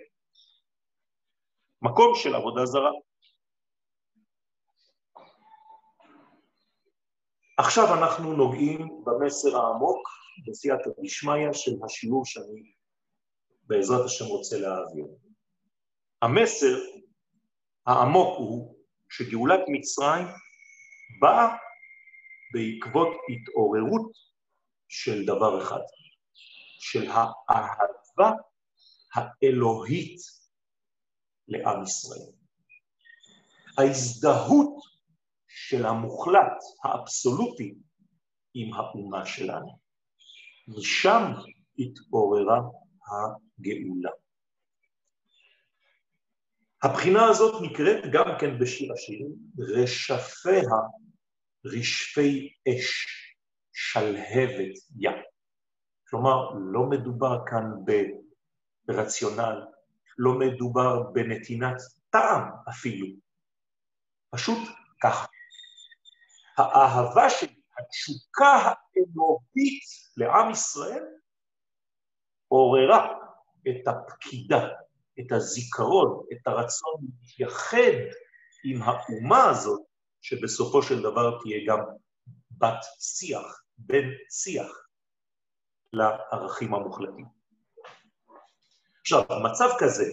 מקום של עבודה זרה. עכשיו אנחנו נוגעים במסר העמוק, בסייעתא דשמיא של השיעור שאני בעזרת השם רוצה להעביר. המסר העמוק הוא שגאולת מצרים באה בעקבות התעוררות של דבר אחד, של האהבה האלוהית לעם ישראל. ההזדהות של המוחלט, האבסולוטי, עם האומה שלנו. משם התעוררה הגאולה. הבחינה הזאת נקראת גם כן בשיר השירים, רשפיה רשפי אש שלהבת ים. כלומר, לא מדובר כאן ברציונל, לא מדובר בנתינת טעם אפילו. פשוט ככה. האהבה שלי, התשוקה האלוהית לעם ישראל, עוררה את הפקידה, את הזיכרון, את הרצון להתייחד עם האומה הזאת, שבסופו של דבר תהיה גם בת שיח, בן שיח, לערכים המוחלטים. עכשיו, המצב כזה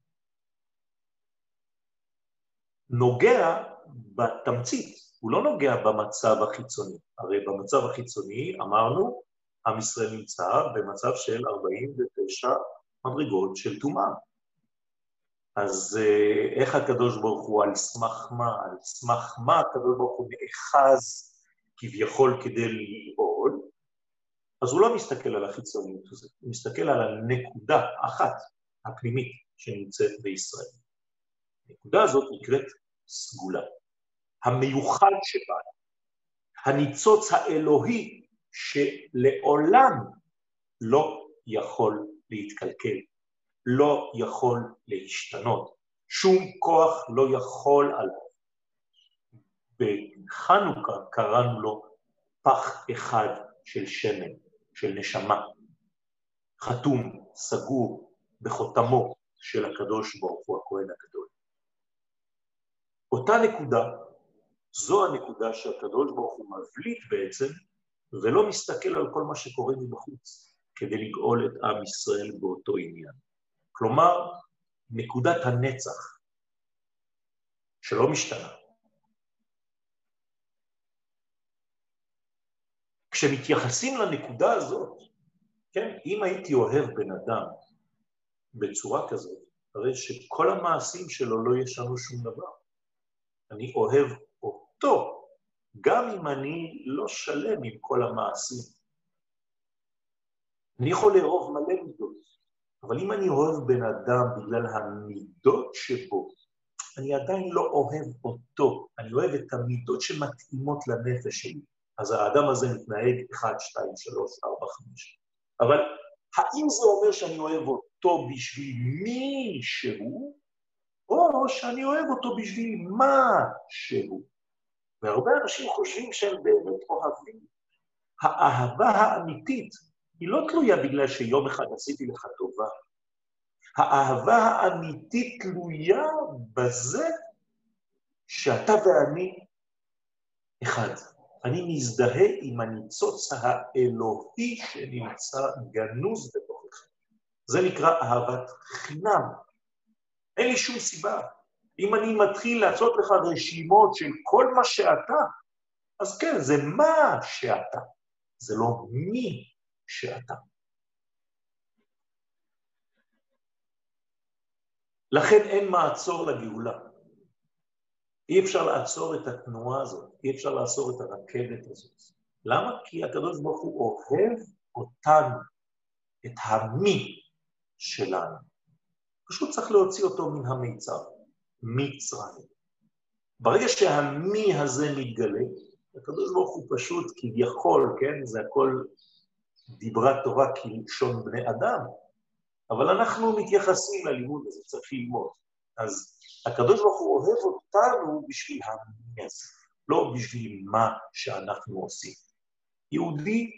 נוגע בתמצית, הוא לא נוגע במצב החיצוני. הרי במצב החיצוני אמרנו, עם ישראל נמצא במצב של ארבעים ותשע מדרגות של טומאה. אז איך הקדוש ברוך הוא על סמך מה, על סמך מה הקדוש ברוך הוא נאחז כביכול כדי לגאול, אז הוא לא מסתכל על החיצוניות הזאת, הוא מסתכל על הנקודה האחת, הפנימית, שנמצאת בישראל. הנקודה הזאת נקראת סגולה. המיוחד שבה, הניצוץ האלוהי שלעולם לא יכול להתקלקל, לא יכול להשתנות, שום כוח לא יכול עליו. בחנוכה קראנו לו פח אחד של שמן, של נשמה, חתום, סגור, בחותמו של הקדוש ברוך הוא הכהן הגדול. אותה נקודה, זו הנקודה שהקדוש ברוך הוא מבליט בעצם, ולא מסתכל על כל מה שקורה מבחוץ, כדי לגאול את עם ישראל באותו עניין. כלומר, נקודת הנצח, שלא משתנה. כשמתייחסים לנקודה הזאת, כן, אם הייתי אוהב בן אדם בצורה כזאת, הרי שכל המעשים שלו לא ישנו שום דבר. אני אוהב אותו, גם אם אני לא שלם עם כל המעשים. אני יכול לאהוב מלא מידות, אבל אם אני אוהב בן אדם בגלל המידות שבו, אני עדיין לא אוהב אותו, אני אוהב את המידות שמתאימות לנפש שלי. אז האדם הזה מתנהג אחת, שתיים, שלוש, ארבע, חמש. אבל האם זה אומר שאני אוהב אותו בשביל מי שהוא, או שאני אוהב אותו בשביל מה שהוא? והרבה אנשים חושבים שהם באמת אוהבים. האהבה האמיתית היא לא תלויה בגלל שיום אחד עשיתי לך טובה. האהבה האמיתית תלויה בזה שאתה ואני אחד. אני מזדהה עם הניצוץ האלוהי שנמצא גנוז בתוכך. זה נקרא אהבת חינם. אין לי שום סיבה. אם אני מתחיל לעשות לך רשימות של כל מה שאתה, אז כן, זה מה שאתה. זה לא מי שאתה. לכן אין מעצור לגאולה. אי אפשר לעצור את התנועה הזאת, אי אפשר לעצור את הרכבת הזאת. למה? כי הקדוש ברוך הוא אוהב אותנו, את המי שלנו. פשוט צריך להוציא אותו מן המיצר, מצרים. ברגע שהמי הזה מתגלה, הקדוש ברוך הוא פשוט כביכול, כן? זה הכל דיברה תורה כלשון בני אדם, אבל אנחנו מתייחסים ללימוד הזה, צריך ללמוד. אז הקדוש ברוך הוא אוהב אותנו בשביל המי הזה, לא בשביל מה שאנחנו עושים. יהודי,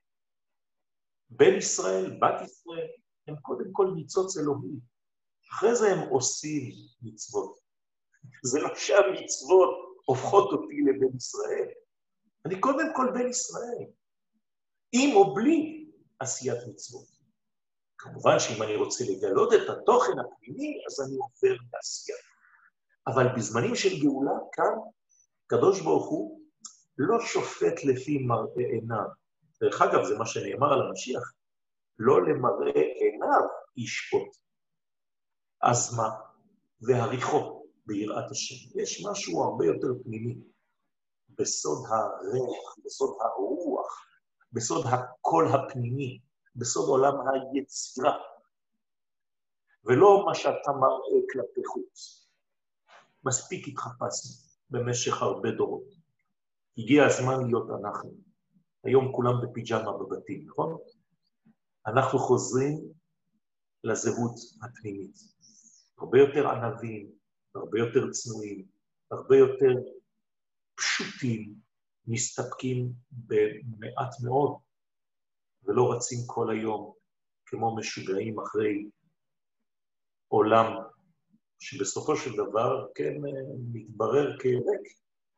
בן ישראל, בת ישראל, הם קודם כל ניצוץ אלוהי. אחרי זה הם עושים מצוות. זה לא שהמצוות הופכות אותי לבן ישראל. אני קודם כל בן ישראל, עם או בלי עשיית מצוות. כמובן שאם אני רוצה לגלות את התוכן הפנימי, אז אני עובר לעשייה. אבל בזמנים של גאולה, כאן, קדוש ברוך הוא לא שופט לפי מראה עיניו. דרך אגב, זה מה שנאמר על המשיח, לא למראה עיניו ישפוט. אז מה? והריחו ביראת השם. יש משהו הרבה יותר פנימי, בסוד הריח, בסוד הרוח, בסוד הקול הפנימי, בסוד עולם היצירה, ולא מה שאתה מראה כלפי חוץ. מספיק התחפשנו במשך הרבה דורות. הגיע הזמן להיות אנחנו. היום כולם בפיג'מה בבתים, נכון? אנחנו חוזרים לזהות הפנימית. הרבה יותר ענבים, הרבה יותר צנועים, הרבה יותר פשוטים, מסתפקים במעט מאוד, ולא רצים כל היום כמו משוגעים אחרי עולם, שבסופו של דבר כן מתברר כריק.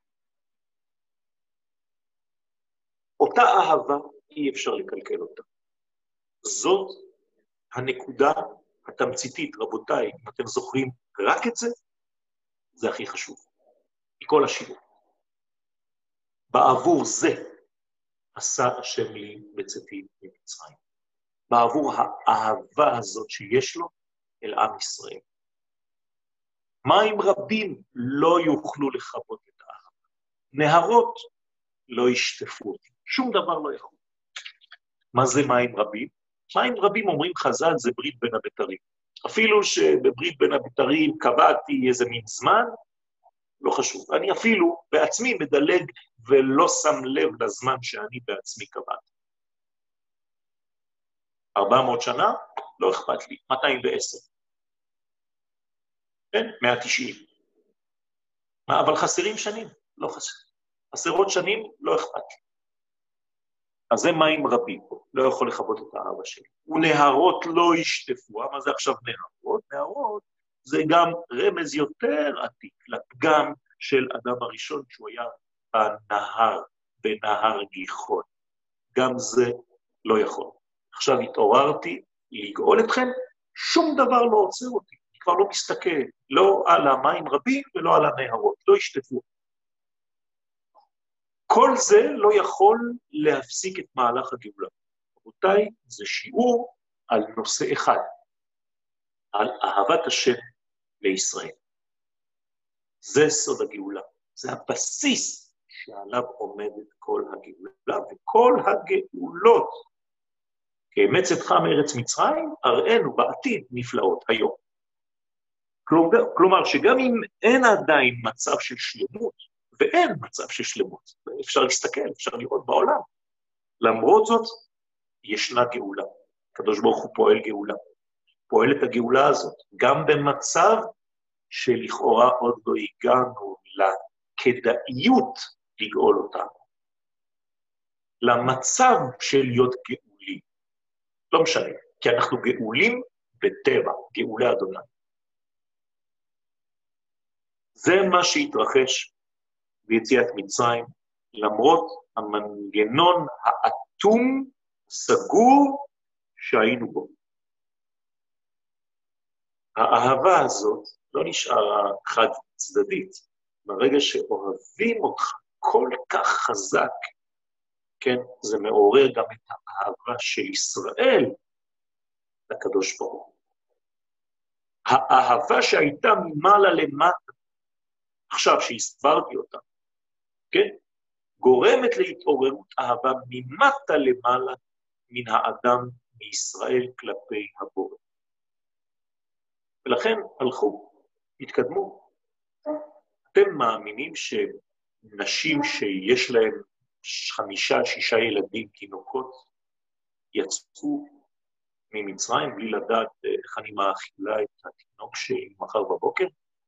אותה אהבה אי אפשר לקלקל אותה. זאת הנקודה התמציתית, רבותיי, אם אתם זוכרים רק את זה, זה הכי חשוב. מכל השיעור. בעבור זה עשה השם לי בצאתי ממצרים. בעבור האהבה הזאת שיש לו אל עם ישראל. מים רבים לא יוכלו לכבות את האהבה. נהרות לא ישטפו אותי. שום דבר לא יכול. מה זה מים רבים? מים רבים אומרים חז"ל זה ברית בין הבתרים. אפילו שבברית בין הבתרים קבעתי איזה מין זמן, לא חשוב. אני אפילו בעצמי מדלג ולא שם לב לזמן שאני בעצמי קבעתי. ארבע מאות שנה? לא אכפת לי. מאתיים ועשר. כן? מאה ותשעים. אבל חסרים שנים? לא חסר. חסרות שנים? לא אכפת לי. אז זה מים רבים, לא יכול לכבות את האהבה שלי. ונהרות לא ישטפו, מה זה עכשיו נהרות? נהרות זה גם רמז יותר עתיק, לפגם של אדם הראשון, שהוא היה בנהר, בנהר גיחון. גם זה לא יכול. עכשיו התעוררתי לגאול אתכם, שום דבר לא עוצר אותי, אני כבר לא מסתכל, לא על המים רבים ולא על הנהרות, לא ישטפו. כל זה לא יכול להפסיק את מהלך הגאולה. רבותיי, זה שיעור על נושא אחד, על אהבת השם לישראל. זה סוד הגאולה, זה הבסיס שעליו עומדת כל הגאולה, וכל הגאולות, כאמץ אתך מארץ מצרים, הראינו בעתיד נפלאות היום. כלומר, כלומר, שגם אם אין עדיין מצב של שלמות, ואין מצב של שלמות, אפשר להסתכל, אפשר לראות בעולם. למרות זאת, ישנה גאולה. הקדוש ברוך הוא פועל גאולה. פועל את הגאולה הזאת, גם במצב שלכאורה עוד לא הגענו לכדאיות לגאול אותנו. למצב של להיות גאולים. לא משנה, כי אנחנו גאולים בטבע, גאולי אדוני. זה מה שהתרחש ביציאת מצרים, למרות המנגנון האטום, סגור, שהיינו בו. האהבה הזאת לא נשארה חד צדדית. ברגע שאוהבים אותך כל כך חזק, כן, זה מעורר גם את האהבה של ישראל לקדוש ברוך הוא. האהבה שהייתה ממעלה למטה, עכשיו שהסברתי אותה, כן, גורמת להתעוררות אהבה ממטה למעלה מן האדם מישראל כלפי הבורא. ולכן הלכו, התקדמו. אתם מאמינים שנשים שיש להם חמישה, שישה ילדים, תינוקות, יצאו ממצרים בלי לדעת איך אני מאכילה את התינוק שלי מחר בבוקר?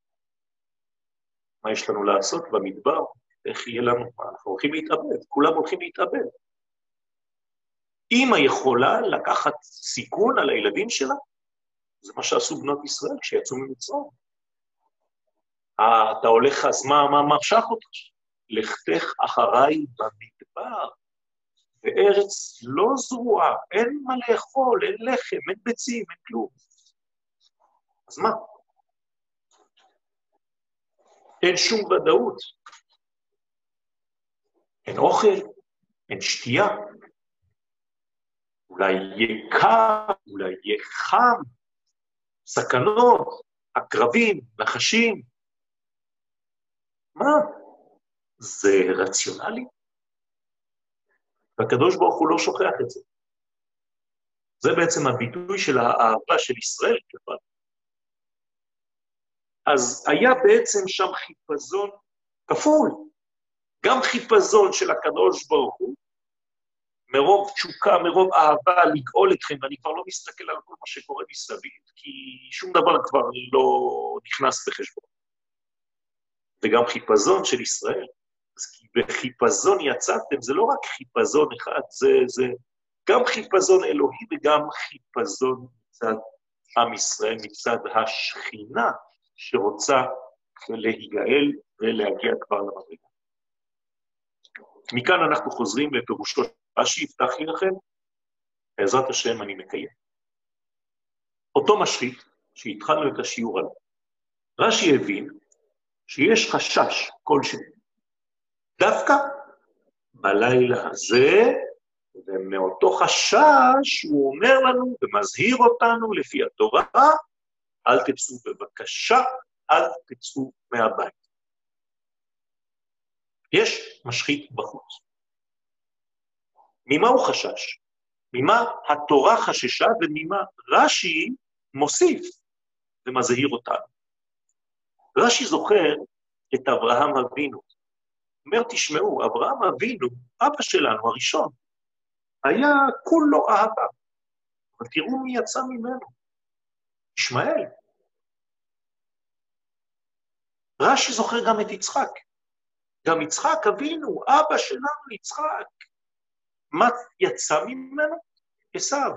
מה יש לנו לעשות במדבר? איך יהיה לנו? אנחנו הולכים להתאבד, כולם הולכים להתאבד. אמא יכולה לקחת סיכון על הילדים שלה? זה מה שעשו בנות ישראל כשיצאו ממצרים. אתה הולך, אז מה, מה מרשך אותך? לכתך אחריי במדבר, בארץ לא זרועה, אין מה לאכול, אין לחם, אין ביצים, אין כלום. אז מה? אין שום ודאות. אין אוכל, אין שתייה. אולי יהיה קר, אולי יהיה חם, סכנות, עקרבים, נחשים. מה? זה רציונלי? והקדוש ברוך הוא לא שוכח את זה. זה בעצם הביטוי של האהבה של ישראל כפי. אז היה בעצם שם חיפזון כפול. גם חיפזון של הקדוש ברוך הוא, מרוב תשוקה, מרוב אהבה לגאול אתכם, ואני כבר לא מסתכל על כל מה שקורה מסביב, כי שום דבר כבר לא נכנס בחשבון. וגם חיפזון של ישראל. אז כי בחיפזון יצאתם, זה לא רק חיפזון אחד, זה, זה גם חיפזון אלוהי וגם חיפזון מצד עם ישראל, מצד השכינה שרוצה להיגאל ולהגיע כבר למדרגה. מכאן אנחנו חוזרים לפירושו רש"י, הבטחתי לכם, בעזרת השם אני מקיים. אותו משחית שהתחלנו את השיעור עליו, רש"י הבין שיש חשש כלשהו, דווקא בלילה הזה, ומאותו חשש הוא אומר לנו ומזהיר אותנו לפי התורה, אל תצאו בבקשה, אל תצאו מהבית. יש משחית בחוץ. ממה הוא חשש? ממה התורה חששה וממה רש"י מוסיף ומזהיר אותנו. רש"י זוכר את אברהם אבינו. אומר, תשמעו, אברהם אבינו, אבא שלנו הראשון, היה כולו אהבה. אבל תראו מי יצא ממנו. ישמעאל. רש"י זוכר גם את יצחק. גם יצחק אבינו, אבא שלנו יצחק. מה יצא ממנו? עשיו.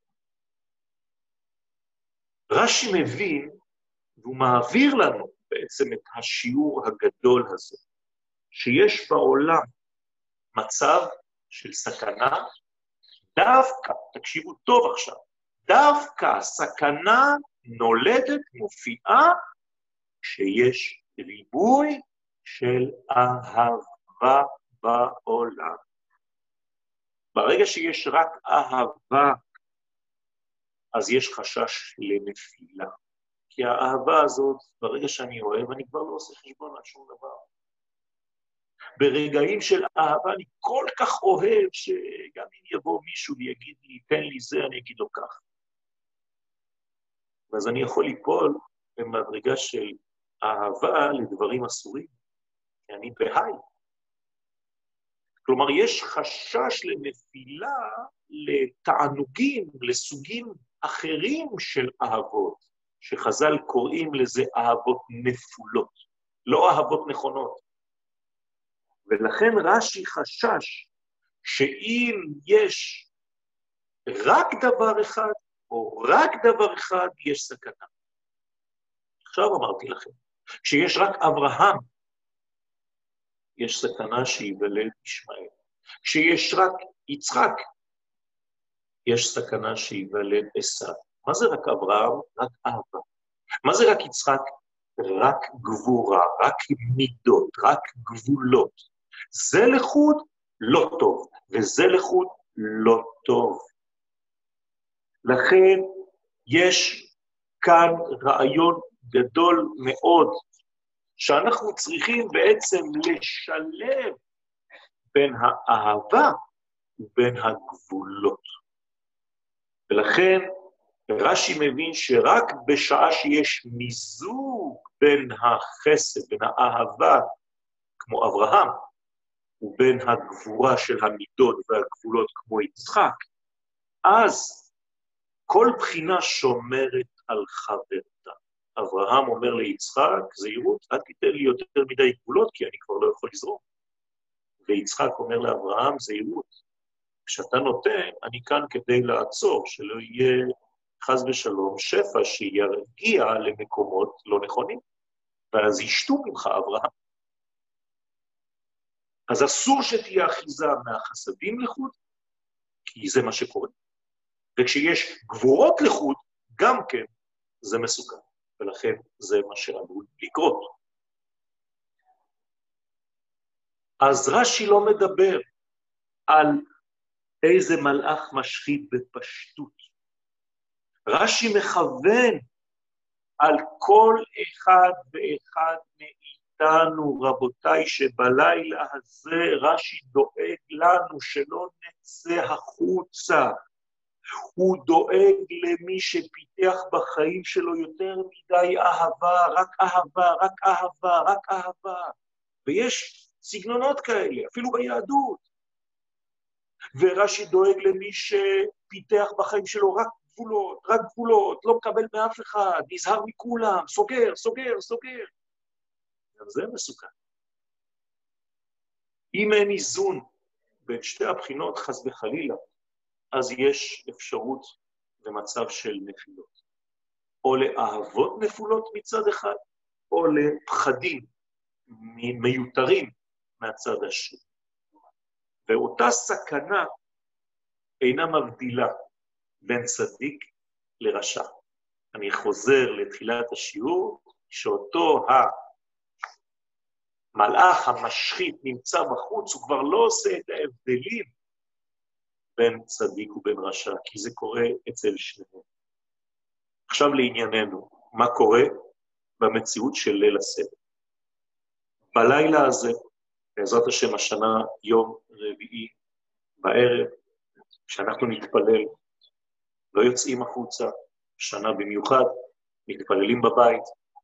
רש"י מבין, והוא מעביר לנו בעצם את השיעור הגדול הזה, שיש בעולם מצב של סכנה, דווקא, תקשיבו טוב עכשיו, דווקא הסכנה נולדת, מופיעה, כשיש ריבוי של אהבה בעולם. ברגע שיש רק אהבה, אז יש חשש לנפילה. כי האהבה הזאת, ברגע שאני אוהב, אני כבר לא עושה חשבון על שום דבר. ברגעים של אהבה אני כל כך אוהב, שגם אם יבוא מישהו ויגיד לי, תן לי זה, אני אגיד לו כך. ואז אני יכול ליפול במדרגה של אהבה לדברים אסורים, כי אני בהיי. כלומר, יש חשש לנפילה, לתענוגים, לסוגים אחרים של אהבות, שחז"ל קוראים לזה אהבות נפולות, לא אהבות נכונות. ולכן רש"י חשש שאם יש רק דבר אחד, או רק דבר אחד, יש סכנה. עכשיו אמרתי לכם, כשיש רק אברהם, יש סכנה שיוולד ישמעאל. כשיש רק יצחק, יש סכנה שיוולד עשיו. מה זה רק אברהם? רק אהבה. מה זה רק יצחק? רק גבורה, רק מידות, רק גבולות. זה לחוד לא טוב, וזה לחוד לא טוב. לכן יש כאן רעיון גדול מאוד, שאנחנו צריכים בעצם לשלב בין האהבה ובין הגבולות. ולכן רש"י מבין שרק בשעה שיש מיזוג בין החסד, בין האהבה, כמו אברהם, ובין הגבורה של המידות והגבולות כמו יצחק, אז כל בחינה שומרת על חברתה. אברהם אומר ליצחק, זהירות, אל תיתן לי יותר מדי גבולות, כי אני כבר לא יכול לזרום. ויצחק אומר לאברהם, זהירות, כשאתה נותן, אני כאן כדי לעצור, שלא יהיה חס ושלום שפע שירגיע למקומות לא נכונים, ואז ישתו ממך אברהם. אז אסור שתהיה אחיזה מהחסדים לחוד, כי זה מה שקורה. וכשיש גבורות לחוד, גם כן זה מסוכן, ולכן זה מה שעלול לקרות. אז רש"י לא מדבר על איזה מלאך משחית בפשטות. רש"י מכוון על כל אחד ואחד מאיתנו, רבותיי, שבלילה הזה רש"י דואג לנו שלא נצא החוצה. הוא דואג למי שפיתח בחיים שלו יותר מדי אהבה, רק אהבה, רק אהבה, רק אהבה. ויש סגנונות כאלה, אפילו ביהדות. ורש"י דואג למי שפיתח בחיים שלו רק גבולות, רק גבולות, לא מקבל מאף אחד, נזהר מכולם, סוגר, סוגר, סוגר. גם זה מסוכן. אם אין איזון בין שתי הבחינות, חס וחלילה, אז יש אפשרות למצב של נפילות. או לאהבות נפולות מצד אחד, או לפחדים מיותרים מהצד השני. ואותה סכנה אינה מבדילה בין צדיק לרשע. אני חוזר לתחילת השיעור, שאותו המלאך המשחית נמצא בחוץ, הוא כבר לא עושה את ההבדלים בין צדיק ובין רשע, כי זה קורה אצל שניהם. עכשיו לענייננו, מה קורה במציאות של ליל הסדר? בלילה הזה, בעזרת השם השנה, יום רביעי בערב, כשאנחנו נתפלל, לא יוצאים החוצה, שנה במיוחד, מתפללים בבית,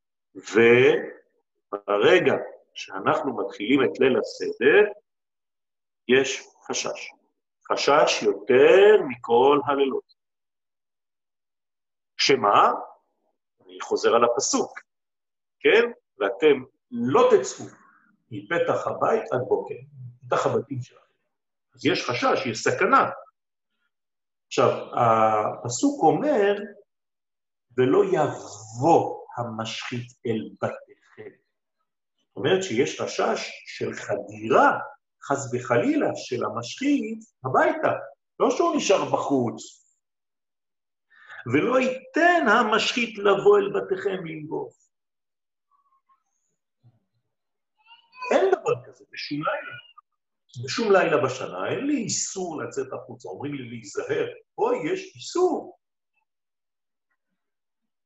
וברגע שאנחנו מתחילים את ליל הסדר, יש חשש. חשש יותר מכל הלילות. שמה? אני חוזר על הפסוק, כן? ואתם לא תצאו מפתח הבית עד בוקר, מפתח הבתים שלכם. אז יש חשש, יש סכנה. עכשיו, הפסוק אומר, ולא יבוא המשחית אל בתיכם. זאת אומרת שיש חשש של חדירה, חס וחלילה, של המשחית הביתה. לא שהוא נשאר בחוץ. ולא ייתן המשחית לבוא אל בתיכם לנגוף. אין דבר כזה בשום לילה. בשום לילה בשנה, אין לי איסור לצאת החוצה, אומרים לי להיזהר, פה יש איסור.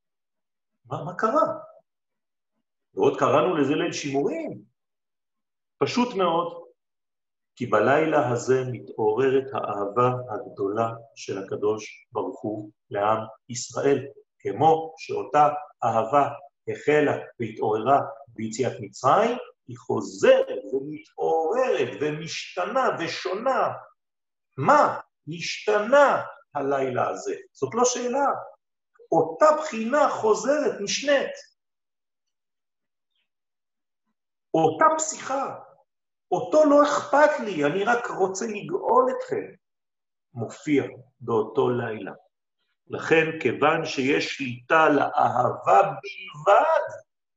מה, מה קרה? ועוד קראנו לזה ליל שימורים. פשוט מאוד, כי בלילה הזה מתעוררת האהבה הגדולה של הקדוש ברוך הוא לעם ישראל, כמו שאותה אהבה החלה והתעוררה ביציאת מצרים, היא חוזרת ומתעוררת ומשתנה ושונה. מה השתנה הלילה הזה? זאת לא שאלה. אותה בחינה חוזרת, נשנית. אותה פסיכה, אותו לא אכפת לי, אני רק רוצה לגאול אתכם, מופיע באותו לילה. לכן, כיוון שיש שליטה לאהבה בלבד,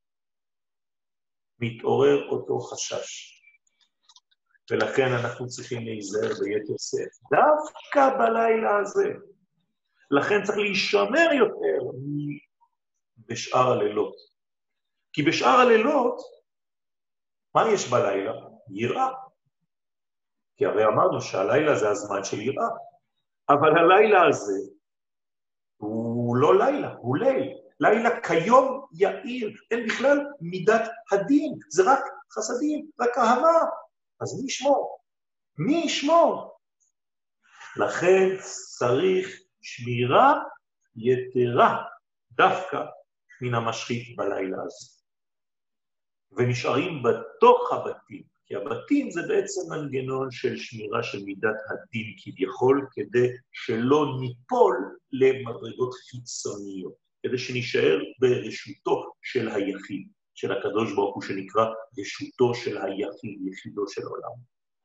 מתעורר אותו חשש. ולכן אנחנו צריכים להיזהר ביתר שאת, דווקא בלילה הזה. לכן צריך להישמר יותר בשאר הלילות. כי בשאר הלילות, מה יש בלילה? יראה. כי הרי אמרנו שהלילה זה הזמן של יראה. אבל הלילה הזה הוא לא לילה, הוא ליל. לילה כיום יאיר, אין בכלל מידת הדין, זה רק חסדים, רק אהבה. אז מי ישמור? מי ישמור? לכן צריך שמירה יתרה דווקא מן המשחית בלילה הזה. ונשארים בתוך הבתים, כי הבתים זה בעצם מנגנון של שמירה של מידת הדין כביכול, כדי שלא ניפול למדרגות חיצוניות, כדי שנשאר ברשותו של היחיד, של הקדוש ברוך הוא שנקרא רשותו של היחיד, יחידו של העולם.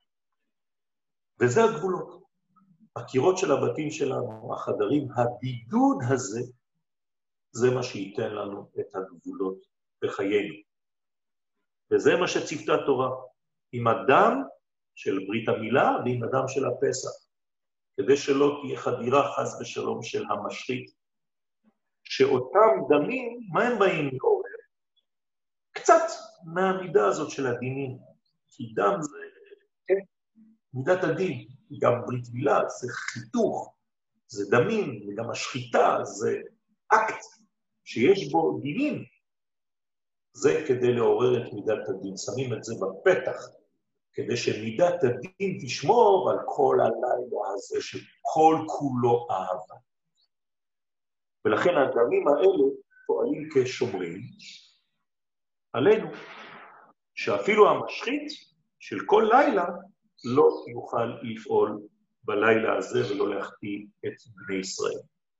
וזה הגבולות. הקירות של הבתים שלנו, החדרים, הבידוד הזה, זה מה שייתן לנו את הגבולות בחיינו. וזה מה שצפתה תורה, עם הדם של ברית המילה ועם הדם של הפסח, כדי שלא תהיה חדירה חס ושלום של המשחית, שאותם דמים, מה הם באים לעורר? קצת מהמידה הזאת של הדינים, כי דם זה כן, מידת הדין, גם ברית מילה זה חיתוך, זה דמים, וגם השחיטה זה אקט שיש בו דינים, זה כדי לעורר את מידת הדין, שמים את זה בפתח, כדי שמידת הדין תשמור על כל הלילה הזה שכל כולו אהבה. ולכן הדמים האלה פועלים כשומרים עלינו, שאפילו המשחית של כל לילה לא יוכל לפעול בלילה הזה ולא להחטיא את בני ישראל.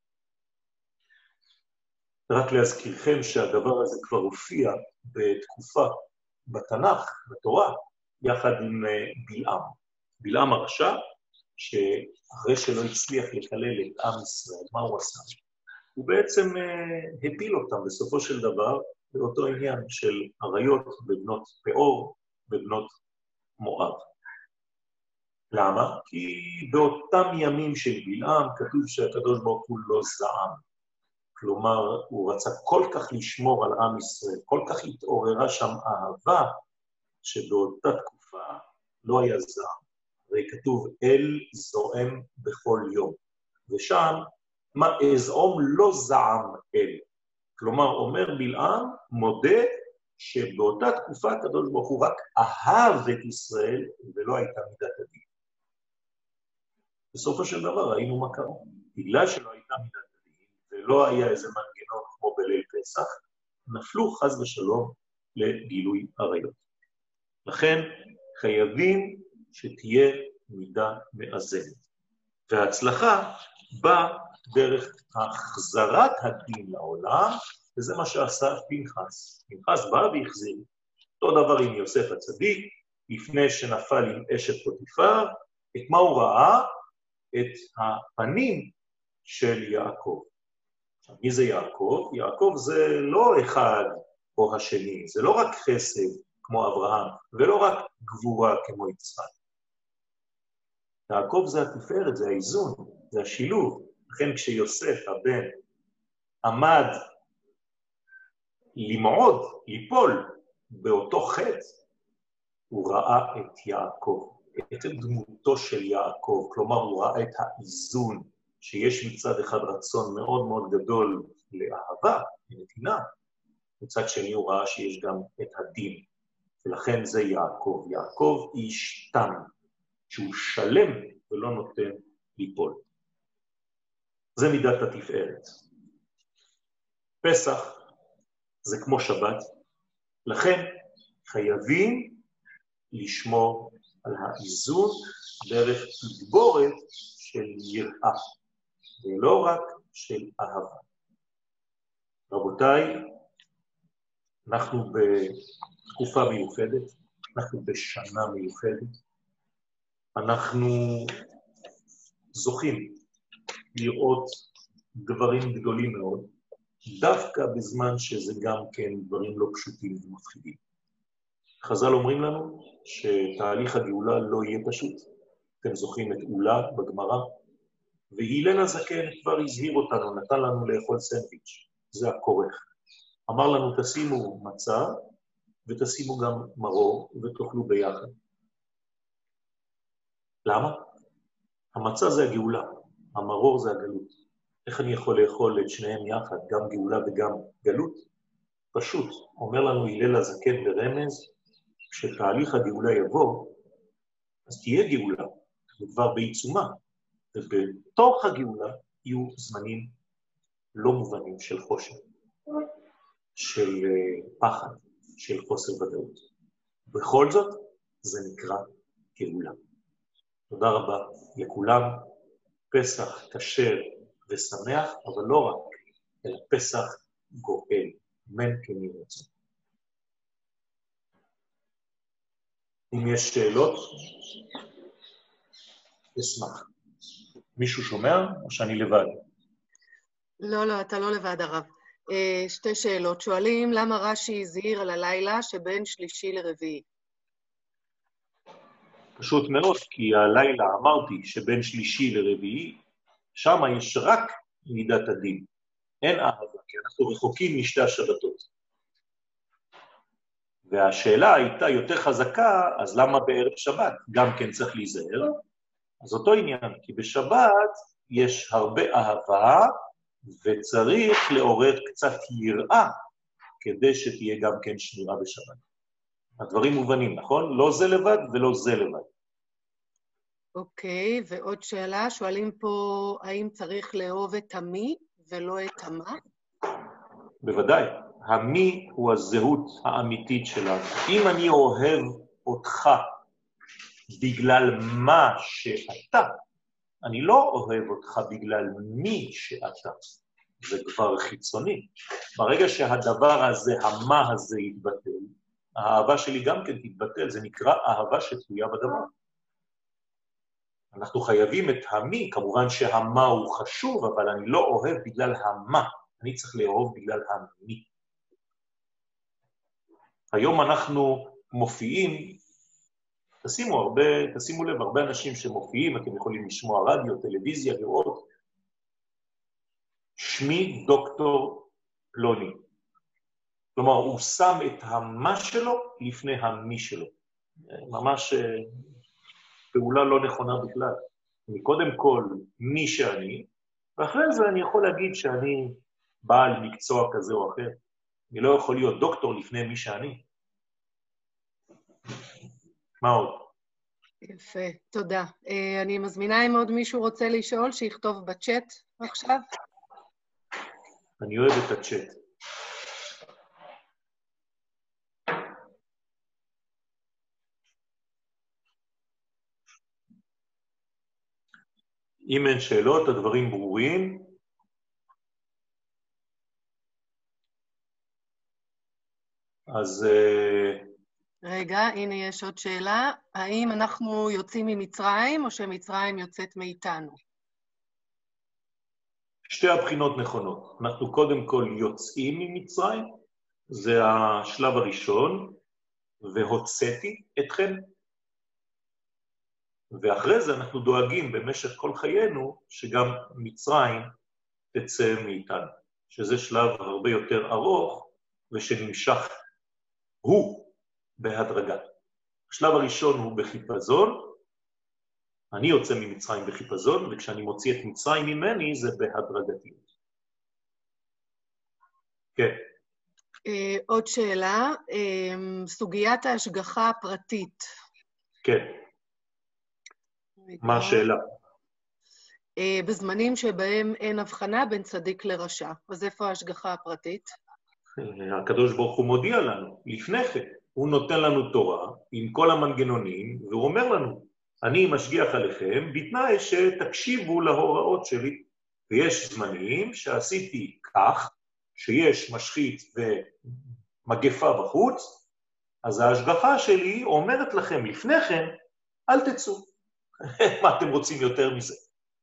רק להזכירכם שהדבר הזה כבר הופיע בתקופה בתנ"ך, בתורה, יחד עם בלעם. בלעם הרשע, שאחרי שלא הצליח לקלל את עם ישראל, מה הוא עשה? הוא בעצם הפיל אותם בסופו של דבר באותו עניין של עריות בבנות פאור, בבנות מואב. למה? כי באותם ימים של בלעם כתוב שהקדוש ברוך הוא לא זעם. כלומר, הוא רצה כל כך לשמור על עם ישראל, כל כך התעוררה שם אהבה, שבאותה תקופה לא היה זעם. הרי כתוב, אל זועם בכל יום. ושם, מה אזעום לא זעם אל. כלומר, אומר בלעם, מודה שבאותה תקופה הקדוש ברוך הוא רק אהב את ישראל, ולא הייתה מידת הדין. בסופו של דבר ראינו מה קרה. בגלל שלא הייתה מידת הדין, ולא היה איזה מנגנון כמו בליל פסח, נפלו חס ושלום לגילוי עריות. לכן חייבים שתהיה מידה מאזנת. וההצלחה באה דרך החזרת הדין לעולם, וזה מה שעשה פנחס. פנחס בא והחזיר. אותו דבר עם יוסף הצדיק, לפני שנפל עם אשת פוטיפר, את מה הוא ראה? את הפנים של יעקב. עכשיו, מי זה יעקב? יעקב זה לא אחד או השני, זה לא רק חסד כמו אברהם, ולא רק גבורה כמו יצחק. יעקב זה התפארת, זה האיזון, זה השילוב. לכן כשיוסף הבן עמד למעוד, ליפול באותו חטא, הוא ראה את יעקב, את דמותו של יעקב, כלומר הוא ראה את האיזון, שיש מצד אחד רצון מאוד מאוד גדול לאהבה, לנתינה, מצד שני הוא ראה שיש גם את הדין, ולכן זה יעקב. יעקב איש תם, שהוא שלם ולא נותן ליפול. זה מידת התפארת. פסח זה כמו שבת, לכן חייבים לשמור על האיזון דרך תגבורת של יראה, ולא רק של אהבה. רבותיי, אנחנו בתקופה מיוחדת, אנחנו בשנה מיוחדת, אנחנו זוכים לראות דברים גדולים מאוד, דווקא בזמן שזה גם כן דברים לא פשוטים ומפחידים. חז"ל אומרים לנו שתהליך הגאולה לא יהיה פשוט. אתם זוכרים את אולה בגמרא, והילל הזקן כבר הזהיר אותנו, נתן לנו לאכול סנדוויץ', זה הכורך. אמר לנו תשימו מצה ותשימו גם מרור ותאכלו ביחד. למה? המצה זה הגאולה, המרור זה הגלות. איך אני יכול לאכול את שניהם יחד, גם גאולה וגם גלות? פשוט, אומר לנו הילל הזקן ברמז, כשתהליך הגאולה יבוא, אז תהיה גאולה, וכבר בעיצומה, ובתוך הגאולה יהיו זמנים לא מובנים של חושך, של פחד, של חוסר ודאות. בכל זאת, זה נקרא גאולה. תודה רבה לכולם, פסח כשר ושמח, אבל לא רק, אלא פסח גואל, מן כן יהי רצון. אם יש שאלות, אשמח. מישהו שומע או שאני לבד? לא, לא, אתה לא לבד הרב. שתי שאלות. שואלים למה רש"י הזהיר על הלילה שבין שלישי לרביעי? פשוט מאוד, כי הלילה אמרתי שבין שלישי לרביעי, שם יש רק מידת הדין. אין אהבה, כי אנחנו רחוקים משתי השבתות. והשאלה הייתה יותר חזקה, אז למה בערב שבת? גם כן צריך להיזהר. אז אותו עניין, כי בשבת יש הרבה אהבה, וצריך לעורר קצת יראה, כדי שתהיה גם כן שמירה בשבת. הדברים מובנים, נכון? לא זה לבד ולא זה לבד. אוקיי, ועוד שאלה, שואלים פה, האם צריך לאהוב את המי ולא את המה? בוודאי, המי הוא הזהות האמיתית שלנו. אם אני אוהב אותך בגלל מה שאתה, אני לא אוהב אותך בגלל מי שאתה. זה כבר חיצוני. ברגע שהדבר הזה, המה הזה יתבטל, האהבה שלי גם כן תתבטל, זה נקרא אהבה שתלויה בדבר. אנחנו חייבים את המי, כמובן שהמה הוא חשוב, אבל אני לא אוהב בגלל המה, אני צריך לאהוב בגלל המי. היום אנחנו מופיעים, תשימו, הרבה, תשימו לב, הרבה אנשים שמופיעים, אתם יכולים לשמוע רדיו, טלוויזיה, לראות, שמי דוקטור פלוני. כלומר, הוא שם את המה שלו לפני המי שלו. ממש פעולה לא נכונה בכלל. אני קודם כל מי שאני, ואחרי זה אני יכול להגיד שאני בעל מקצוע כזה או אחר. אני לא יכול להיות דוקטור לפני מי שאני. מה עוד? יפה, תודה. אני מזמינה אם עוד מישהו רוצה לשאול, שיכתוב בצ'אט עכשיו. אני אוהב את הצ'אט. אם אין שאלות, הדברים ברורים. אז... רגע, הנה יש עוד שאלה. האם אנחנו יוצאים ממצרים או שמצרים יוצאת מאיתנו? שתי הבחינות נכונות. אנחנו קודם כל יוצאים ממצרים, זה השלב הראשון, והוצאתי אתכם. ואחרי זה אנחנו דואגים במשך כל חיינו שגם מצרים תצא מאיתנו, שזה שלב הרבה יותר ארוך ושנמשך הוא בהדרגה. השלב הראשון הוא בחיפזון, אני יוצא ממצרים בחיפזון, וכשאני מוציא את מצרים ממני זה בהדרגתיות. כן. אה, עוד שאלה, אה, סוגיית ההשגחה הפרטית. כן. מה השאלה? אה, בזמנים שבהם אין הבחנה בין צדיק לרשע. אז איפה ההשגחה הפרטית? הקדוש ברוך הוא מודיע לנו, לפני כן, הוא נותן לנו תורה עם כל המנגנונים, והוא אומר לנו, אני משגיח עליכם, בתנאי שתקשיבו להוראות שלי. ויש זמנים שעשיתי כך, שיש משחית ומגפה בחוץ, אז ההשגחה שלי אומרת לכם לפני כן, אל תצאו. מה אתם רוצים יותר מזה?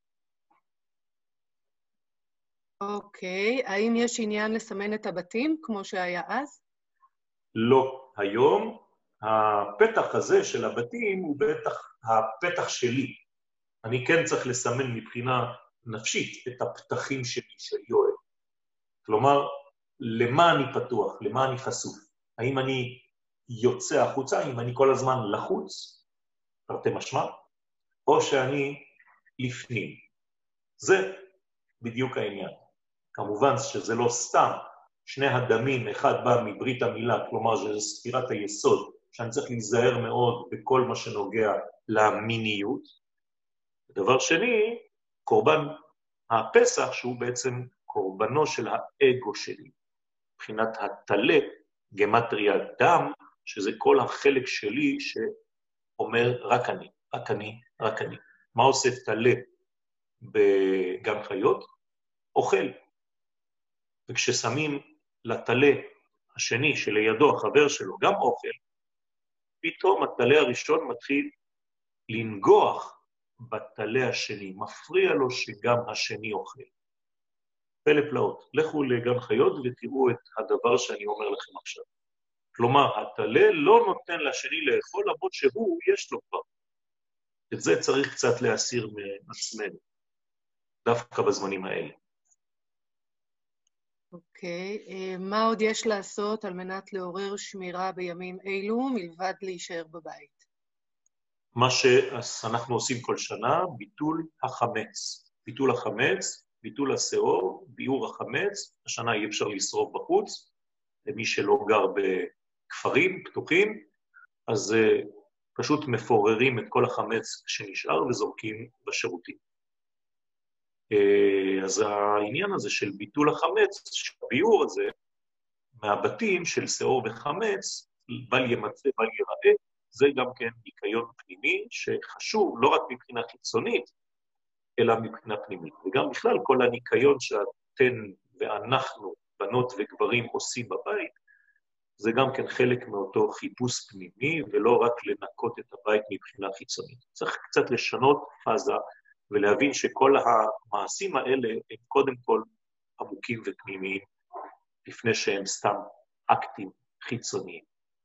אוקיי, האם יש עניין לסמן את הבתים כמו שהיה אז? לא. היום הפתח הזה של הבתים הוא בטח הפתח שלי. אני כן צריך לסמן מבחינה נפשית את הפתחים שלי, של יואל. כלומר, למה אני פתוח? למה אני חשוף? האם אני יוצא החוצה? האם אני כל הזמן לחוץ? תרתי משמע? או שאני לפנים? זה בדיוק העניין. כמובן שזה לא סתם. שני הדמים, אחד בא מברית המילה, כלומר שזה ספירת היסוד, שאני צריך להיזהר מאוד בכל מה שנוגע למיניות. דבר שני, קורבן הפסח, שהוא בעצם קורבנו של האגו שלי. מבחינת התלה, גמטריה דם, שזה כל החלק שלי שאומר רק אני, רק אני, רק אני. מה עושה תלה בגן חיות? אוכל. וכששמים לתלה השני שלידו, החבר שלו, גם אוכל, פתאום התלה הראשון מתחיל לנגוח בתלה השני, מפריע לו שגם השני אוכל. פלא פלאות, לכו לגן חיות ותראו את הדבר שאני אומר לכם עכשיו. כלומר, התלה לא נותן לשני לאכול, למרות שהוא יש לו כבר. את זה צריך קצת להסיר מעצמנו, דווקא בזמנים האלה. אוקיי, מה עוד יש לעשות על מנת לעורר שמירה בימים אלו, מלבד להישאר בבית? מה שאנחנו עושים כל שנה, ביטול החמץ. ביטול החמץ, ביטול השאור, ביעור החמץ, השנה אי אפשר לשרוף בחוץ, למי שלא גר בכפרים פתוחים, אז פשוט מפוררים את כל החמץ שנשאר וזורקים בשירותים. אז העניין הזה של ביטול החמץ, הביאור הזה, מהבתים של שאור וחמץ, בל ימצא, בל ייראה, זה גם כן ניקיון פנימי שחשוב לא רק מבחינה חיצונית, אלא מבחינה פנימית. וגם בכלל כל הניקיון שאתן ואנחנו, בנות וגברים, עושים בבית, זה גם כן חלק מאותו חיפוש פנימי, ולא רק לנקות את הבית מבחינה חיצונית. צריך קצת לשנות פאזה, ולהבין שכל המעשים האלה הם קודם כל עמוקים ופנימיים, לפני שהם סתם אקטים חיצוניים.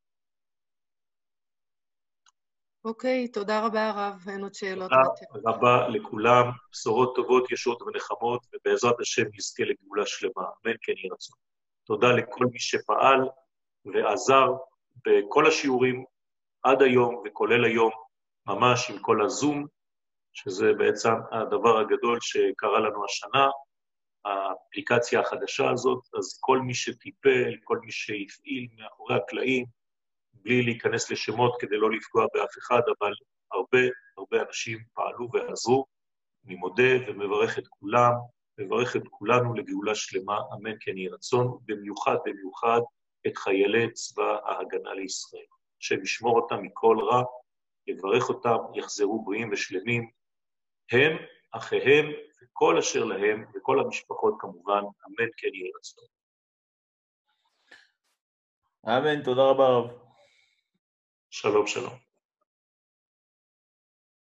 אוקיי, תודה רבה הרב, אין עוד שאלות. תודה רבה לכולם, בשורות טובות, ישועות ונחמות, ובעזרת השם נזכה לגאולה שלמה, אמן כן יהי רצון. תודה לכל מי שפעל ועזר בכל השיעורים עד היום וכולל היום, ממש עם כל הזום, שזה בעצם הדבר הגדול שקרה לנו השנה, האפליקציה החדשה הזאת, אז כל מי שטיפל, כל מי שהפעיל מאחורי הקלעים, בלי להיכנס לשמות כדי לא לפגוע באף אחד, אבל הרבה הרבה אנשים פעלו ועזרו. אני מודה ומברך את כולם, מברך את כולנו לגאולה שלמה, אמן כן יהי רצון, במיוחד במיוחד את חיילי צבא ההגנה לישראל, שישמור אותם מכל רע, יברך אותם, יחזרו בריאים ושלמים, הם, אחיהם, וכל אשר להם, וכל המשפחות כמובן, אמן כן יהי רצון. אמן, תודה רבה רב. שלום שלום.